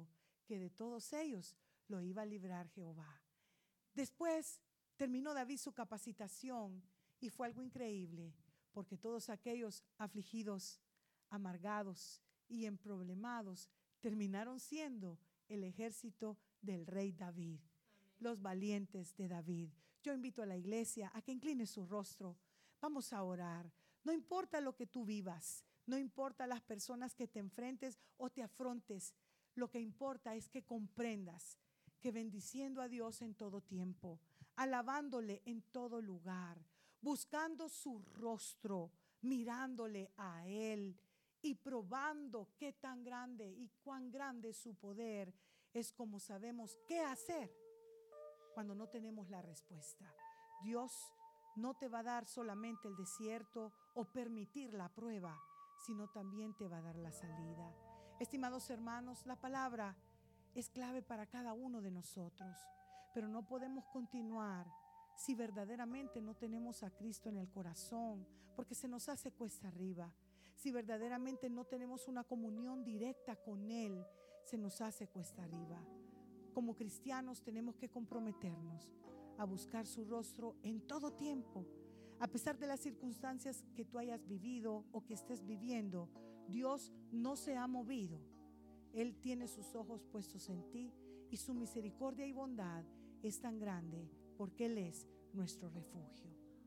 que de todos ellos lo iba a librar Jehová. Después terminó David su capacitación y fue algo increíble, porque todos aquellos afligidos, amargados y emproblemados terminaron siendo el ejército del rey David. Amén. Los valientes de David. Yo invito a la iglesia a que incline su rostro. Vamos a orar. No importa lo que tú vivas, no importa las personas que te enfrentes o te afrontes. Lo que importa es que comprendas que bendiciendo a Dios en todo tiempo, alabándole en todo lugar, buscando su rostro, mirándole a Él y probando qué tan grande y cuán grande es su poder, es como sabemos qué hacer cuando no tenemos la respuesta. Dios no te va a dar solamente el desierto o permitir la prueba, sino también te va a dar la salida. Estimados hermanos, la palabra es clave para cada uno de nosotros, pero no podemos continuar si verdaderamente no tenemos a Cristo en el corazón, porque se nos hace cuesta arriba. Si verdaderamente no tenemos una comunión directa con Él, se nos hace cuesta arriba. Como cristianos tenemos que comprometernos a buscar su rostro en todo tiempo. A pesar de las circunstancias que tú hayas vivido o que estés viviendo, Dios no se ha movido. Él tiene sus ojos puestos en ti y su misericordia y bondad es tan grande porque Él es nuestro refugio.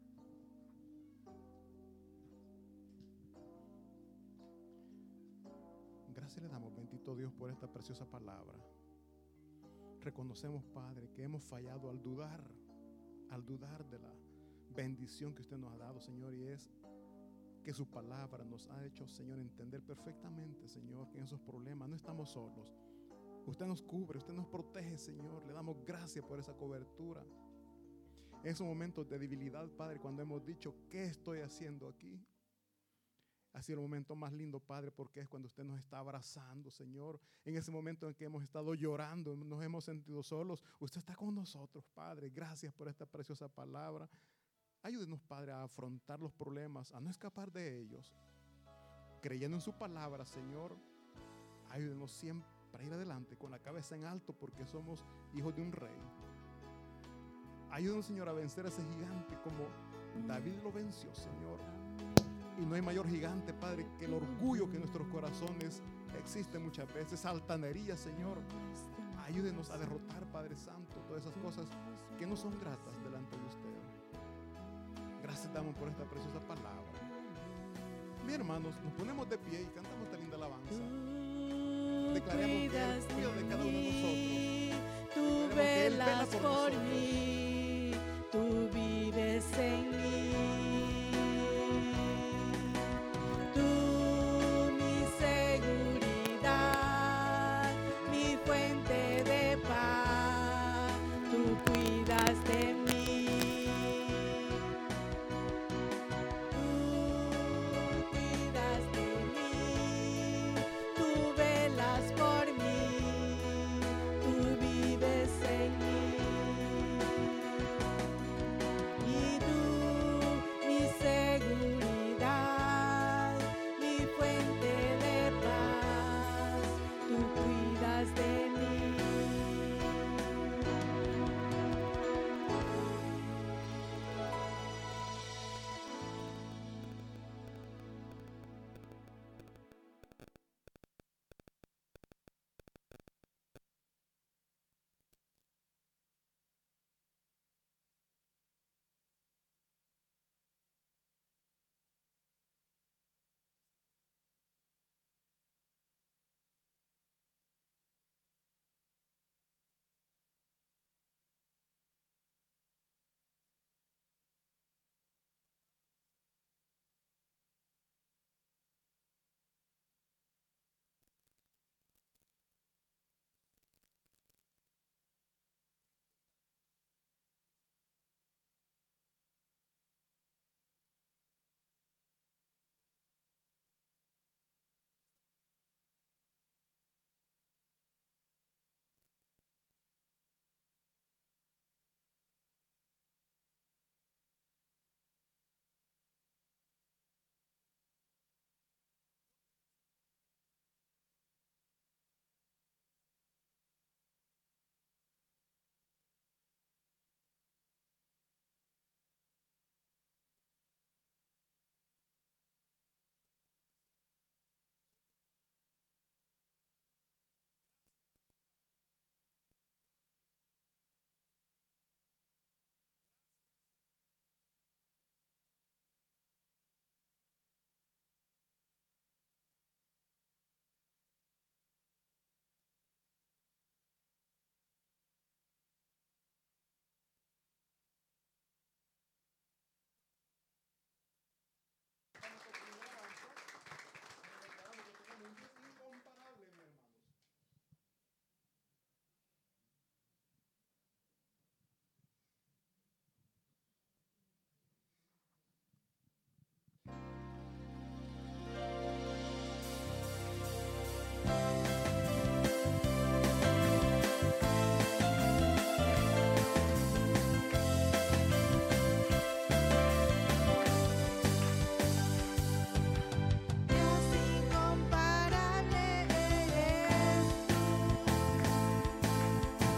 Gracias le damos, bendito Dios, por esta preciosa palabra. Reconocemos, Padre, que hemos fallado al dudar de la bendición que usted nos ha dado, Señor, y es que su palabra nos ha hecho, Señor, entender perfectamente, Señor, que en esos problemas no estamos solos. Usted nos cubre, usted nos protege, Señor. Le damos gracias por esa cobertura. En esos momentos de debilidad, Padre, cuando hemos dicho, ¿qué estoy haciendo aquí? Ha sido el momento más lindo, Padre, porque es cuando usted nos está abrazando, Señor. En ese momento en que hemos estado llorando, nos hemos sentido solos, usted está con nosotros, Padre. Gracias por esta preciosa palabra. Ayúdenos, Padre, a afrontar los problemas, a no escapar de ellos. Creyendo en su palabra, Señor, ayúdenos siempre a ir adelante con la cabeza en alto porque somos hijos de un rey. Ayúdenos, Señor, a vencer a ese gigante como David lo venció, Señor. Y no hay mayor gigante, Padre, que el orgullo que en nuestros corazones existe muchas veces, altanería, Señor. Ayúdenos a derrotar, Padre Santo, todas esas cosas que no son gratas delante de usted. Gracias damos por esta preciosa palabra. Mis hermanos, nos ponemos de pie y cantamos esta linda alabanza. Declaremos que Él cuida de cada uno de nosotros. Tú velas por mí.